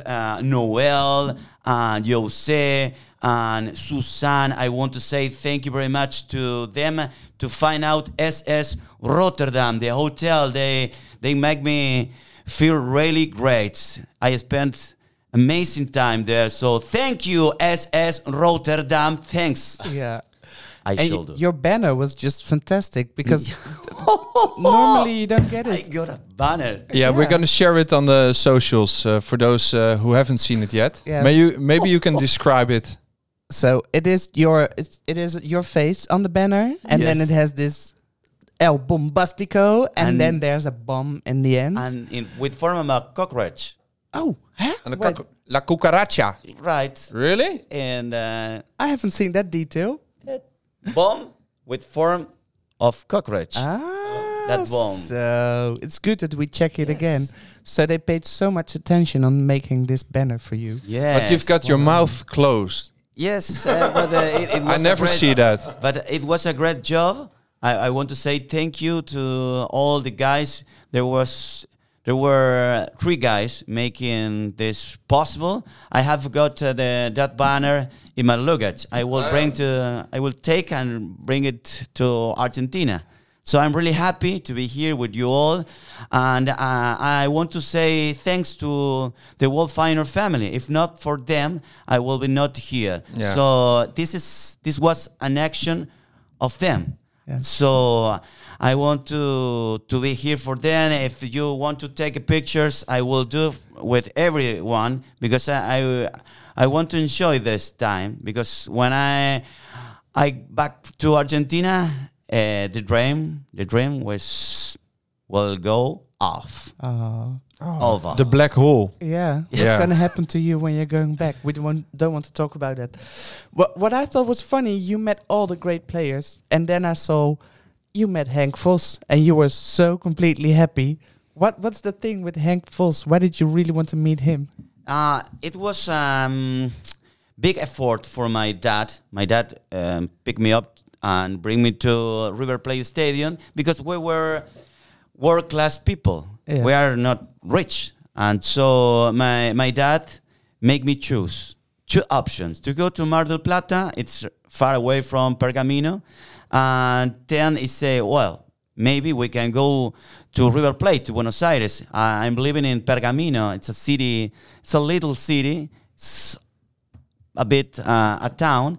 Noel and Jose and Susan, I want to say thank you very much to them to find out SS Rotterdam, the hotel. They make me feel really great. I spent amazing time there. So thank you, SS Rotterdam. Thanks. Yeah. I And should do. your banner was just fantastic because normally you don't get I it. got a banner. Yeah, we're gonna share it on the socials for those who haven't seen it yet. Yeah. Maybe you can describe it. So it is your face on the banner, and then Yes. it has this El Bombastico, and And- then there's a bomb in the end. And with form of a cockroach. oh, huh? And Wait, La cucaracha. Right. Really? And I haven't seen that detail. bomb with form of cockroach. Ah, That bomb. So it's good that we check it again. So they paid so much attention on making this banner for you. Yes. But you've got your mouth closed. Yes, but it was I never see that. But it was a great job. I want to say thank you to all the guys. There were 3 guys making this possible. I have got that banner in my luggage. I will take and bring it to Argentina. So I'm really happy to be here with you all, and I want to say thanks to the World Feyenoord family. If not for them, I will be not here. Yeah. So this was an action of them. Yeah. So I want to be here for them. If you want to take pictures, I will do with everyone, because I want to enjoy this time, because when I back to Argentina, the dream will go off. Over. The black hole. Yeah, what's Yeah. going to happen to you when you're going back? We don't want to talk about that. What I thought was funny, you met all the great players, and then I saw you met Henk Vos, and you were so completely happy. What's the thing with Henk Vos? Why did you really want to meet him? It was big effort for my dad. My dad picked me up and bring me to River Plate Stadium, because we were world-class people. Yeah. We are not rich. And so my dad made me choose 2 options. To go to Mar del Plata, it's far away from Pergamino. And then he said, well, maybe we can go to River Plate, to Buenos Aires. I'm living in Pergamino. It's a city, it's a little city. It's a bit a town.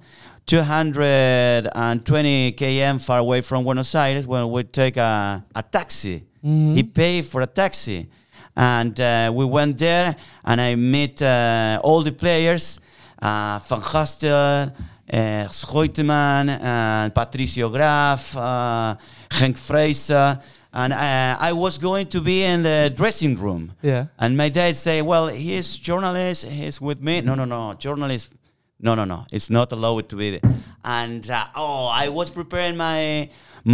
220 km far away from Buenos Aires, when we take a taxi. He paid for a taxi. And we went there, and I met all the players, Van Gastel, Schoiteman, Patricio Graf, Henk Fraser. And I was going to be in the dressing room. Yeah. And my dad said, well, he's journalist, he's with me. No, journalist. No, it's not allowed to be there. And I was preparing my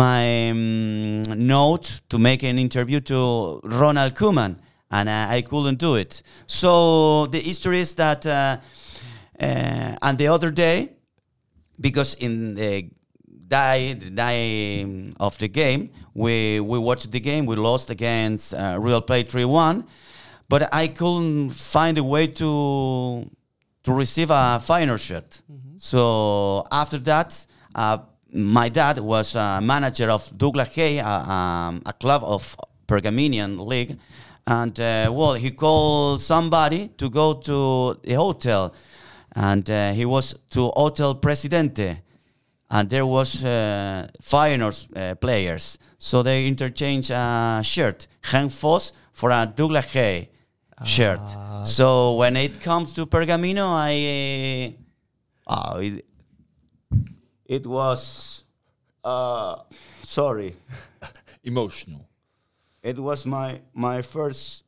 note to make an interview to Ronald Koeman, and I couldn't do it. So the history is that, and the other day, because in the day of the game, we watched the game. We lost against Real Plate 3-1, but I couldn't find a way to receive a Feyenoord shirt. So after that, my dad was manager of Douglas Hay, a club of Pergaminian League. And, he called somebody to go to the hotel. And he was to Hotel Presidente. And there was Feyenoord players. So they interchanged a shirt, Henk Vos for a Douglas Hay shirt. So when it comes to Pergamino, it was sorry, Emotional. it was my first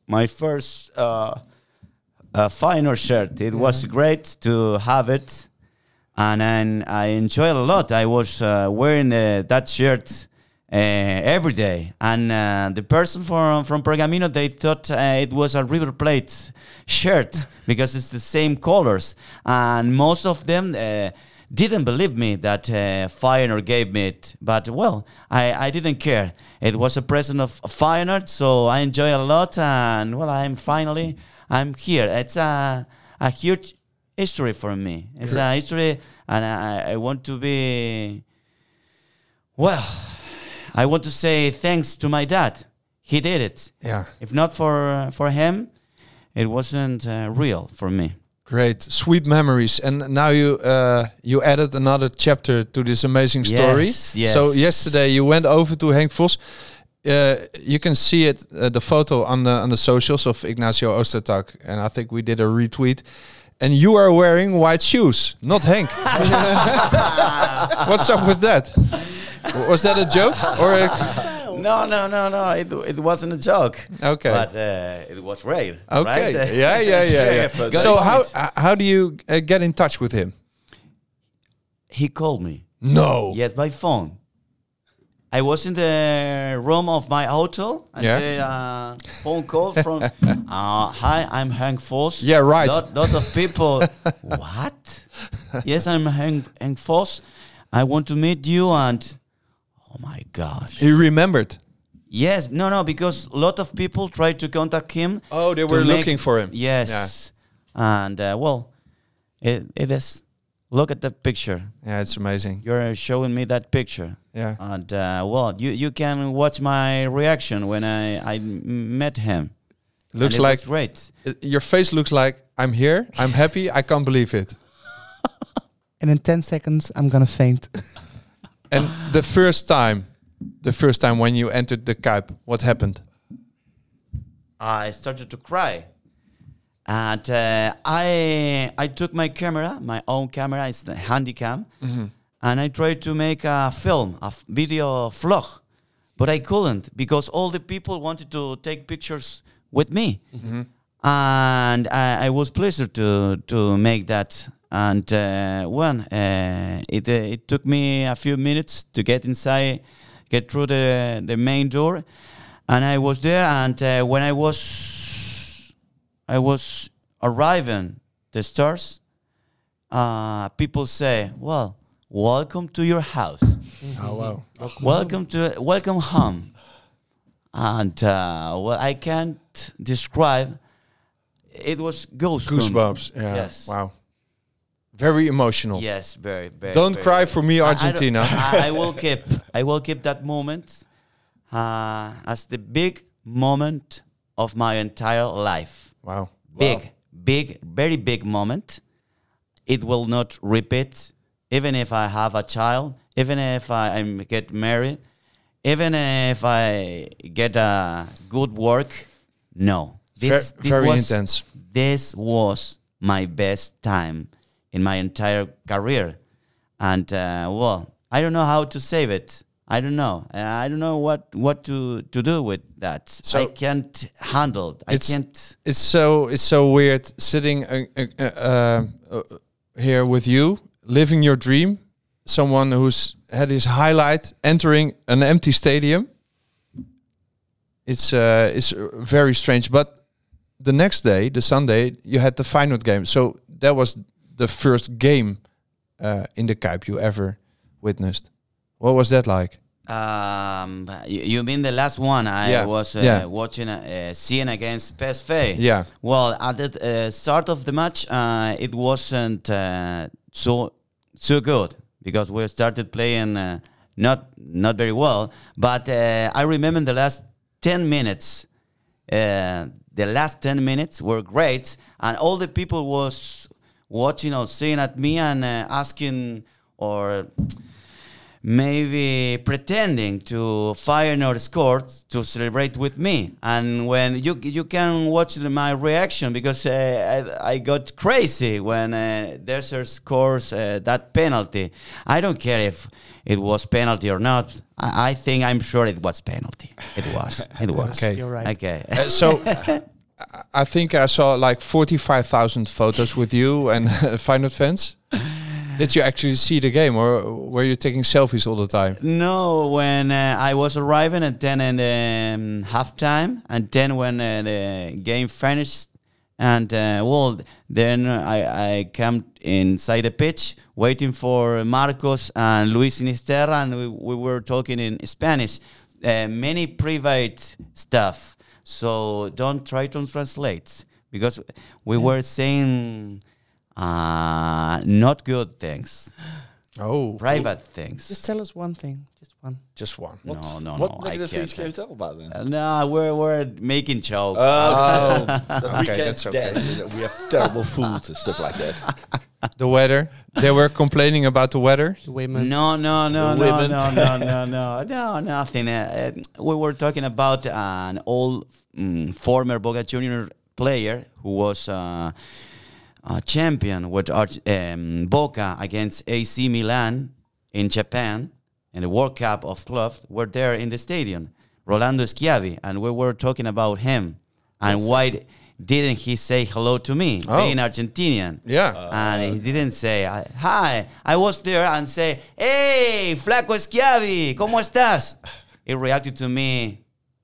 Feyenoord shirt. It was great to have it, and I enjoyed it a lot. I was wearing that shirt every day, and the person from Pergamino, they thought it was a River Plate shirt because it's the same colors, and most of them didn't believe me that Feyenoord gave me it. But well, I didn't care. It was a present of Feyenoord, so I enjoy it a lot, and well, I'm here. It's a huge history for me. It's a history, and I want to be well. I want to say thanks to my dad. He did it. Yeah. If not for him, it wasn't real for me. Great, sweet memories. And now you added another chapter to this amazing story. Yes. So yesterday you went over to Henk Vos. You can see it, the photo on the socials of Ignacio Ostertag, and I think we did a retweet. And you are wearing white shoes, not Henk. What's up with that? Was that a joke or? No. It wasn't a joke. Okay, but it was real. Okay, right? yeah. So how do you get in touch with him? He called me. No. Yes, by phone. I was in the room of my hotel, and a phone call from, hi, I'm Henk Vos. Yeah, right. Lot of people, what? Yes, I'm Henk Vos. I want to meet you, and oh my gosh. He remembered. Yes, no, because a lot of people tried to contact him. Oh, they were looking for him. Yes. Yeah. And, it is Look at that picture. Yeah, it's amazing. You're showing me that picture. Yeah. And you can watch my reaction when I met him. Looks And it like was great. your face looks like I'm here. I'm happy. I can't believe it. And in 10 seconds, I'm gonna faint. And the first time when you entered the Kuip, what happened? I started to cry. And I took my camera, my own camera, it's the Handycam, and I tried to make a film, video vlog, but I couldn't because all the people wanted to take pictures with me, and I was pleased to make that. And it took me a few minutes to get inside, get through the main door, and I was there. And when I was arriving the stairs, people say, "Well, welcome to your house. Oh wow! Welcome home." And I can't describe. It was Goosebumps. Yeah. Yes. Wow. Very emotional. Yes, very, very. Don't very, cry for me, Argentina. I will keep that moment as the big moment of my entire life. Wow. Big, very big moment. It will not repeat, even if I have a child, even if I get married, even if I get a good work. No, this very was intense. This was my best time in my entire career, and I don't know how to save it. I don't know. I don't know what to do with that. So I can't handle it. I can't. It's so weird sitting here with you, living your dream. Someone who's had his highlight entering an empty stadium. It's very strange. But the next day, the Sunday, you had the Feyenoord game. So that was the first game in the Kuip you ever witnessed. What was that like? You mean the last one? I was watching seeing against PSV. Yeah. Well, at the start of the match, it wasn't so good because we started playing not very well. But I remember the last 10 minutes. The last 10 minutes were great, and all the people was watching or seeing at me and asking or maybe pretending to Feyenoord scored to celebrate with me. And when you can watch my reaction because I got crazy when Desert scores that penalty. I don't care if it was penalty or not. I'm sure it was penalty. It was. Okay. You're right. Okay. So I think I saw like 45,000 photos with you and Feyenoord fans. Did you actually see the game, or were you taking selfies all the time? No, when I was arriving at 10 in the halftime, and then when the game finished, and then I came inside the pitch waiting for Marcos and Luis Sinisterra, and we were talking in Spanish, many private stuff. So don't try to translate, because we were saying not good things. Oh, private things. Just tell us one thing. Just one. No. What I negative things can't. can you tell about then? No, we're making jokes. Okay, that's okay. We have terrible food and stuff like that. The weather. They were complaining about the weather. The women. No, women. nothing. We were talking about an old former Boca Junior player who was a champion with Boca against AC Milan in Japan in the World Cup of clubs. Were there in the stadium, Rolando Schiavi, and we were talking about him and why didn't he say hello to me, being Argentinian? Yeah. And he didn't say hi. I was there and say, "Hey, Flaco Schiavi, ¿cómo estás?" He reacted to me.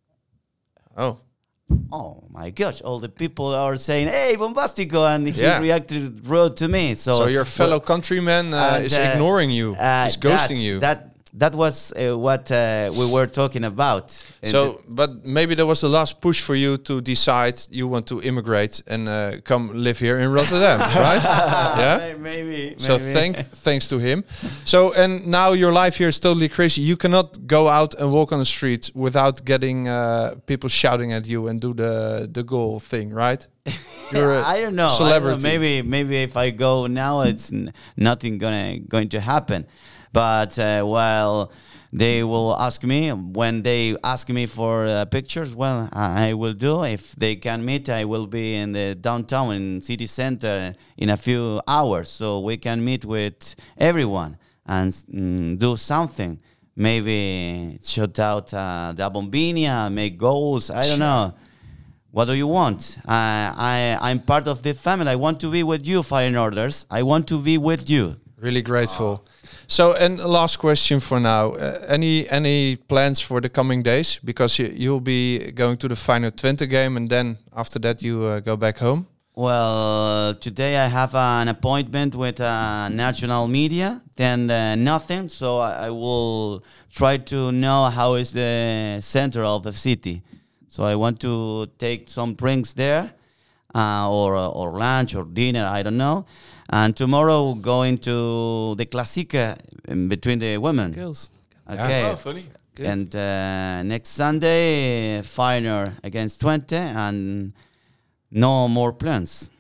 Oh my gosh! All the people are saying, "Hey, Bombastico," and he reacted rude to me. So your fellow countryman is ignoring you. He's ghosting you. That that was what we were talking about. So, but maybe that was the last push for you to decide you want to immigrate and come live here in Rotterdam, right? Yeah, maybe. So thanks to him. So, and now your life here is totally crazy. You cannot go out and walk on the street without getting people shouting at you and do the goal thing, right? You're a I don't know. celebrity. Maybe if I go now, it's nothing going to happen. But while they will ask me, when they ask me for pictures, well, I will do. If they can meet, I will be in the downtown, in city center, in a few hours. So we can meet with everyone and do something. Maybe shout out the Bombinia, make goals. I don't know. What do you want? I'm part of the family. I want to be with you, Feyenoorders. I want to be with you. Really grateful. So, and last question for now. Any plans for the coming days? Because you'll be going to the Feyenoord Twente game, and then after that you go back home? Well, today I have an appointment with national media, then nothing. So I will try to know how is the center of the city. So I want to take some drinks there, or lunch or dinner, I don't know. And tomorrow going to the Classica between the women. Girls. Okay. Oh, funny. Good. And next Sunday, Feyenoord against Twente, and no more plans.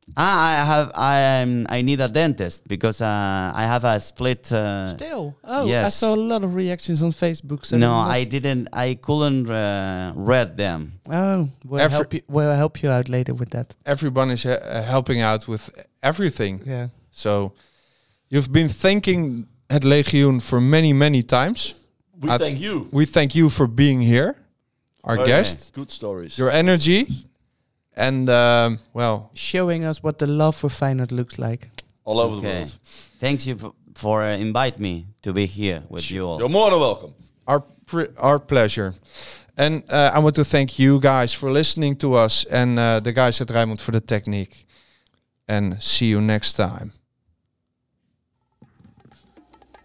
I need a dentist because I have a split. Still? Oh, yes. I saw a lot of reactions on Facebook. So No, I didn't. I couldn't read them. Oh, we'll help you out later with that. Everyone is helping out with everything. Yeah. So you've been thanking Het Legioen for many, many times. We thank you. We thank you for being here, our Okay. guest, Good stories. your energy, and well, Showing us what the love for Feyenoord looks like. All over the Okay. world. Thanks you for invite me to be here with you all. You're more than welcome. our pleasure. And I want to thank you guys for listening to us, and the guys at Rijnmond for the technique. And see you next time.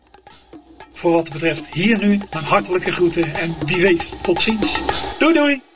Voor wat betreft hier nu een hartelijke groeten en wie weet tot ziens. Doei doei!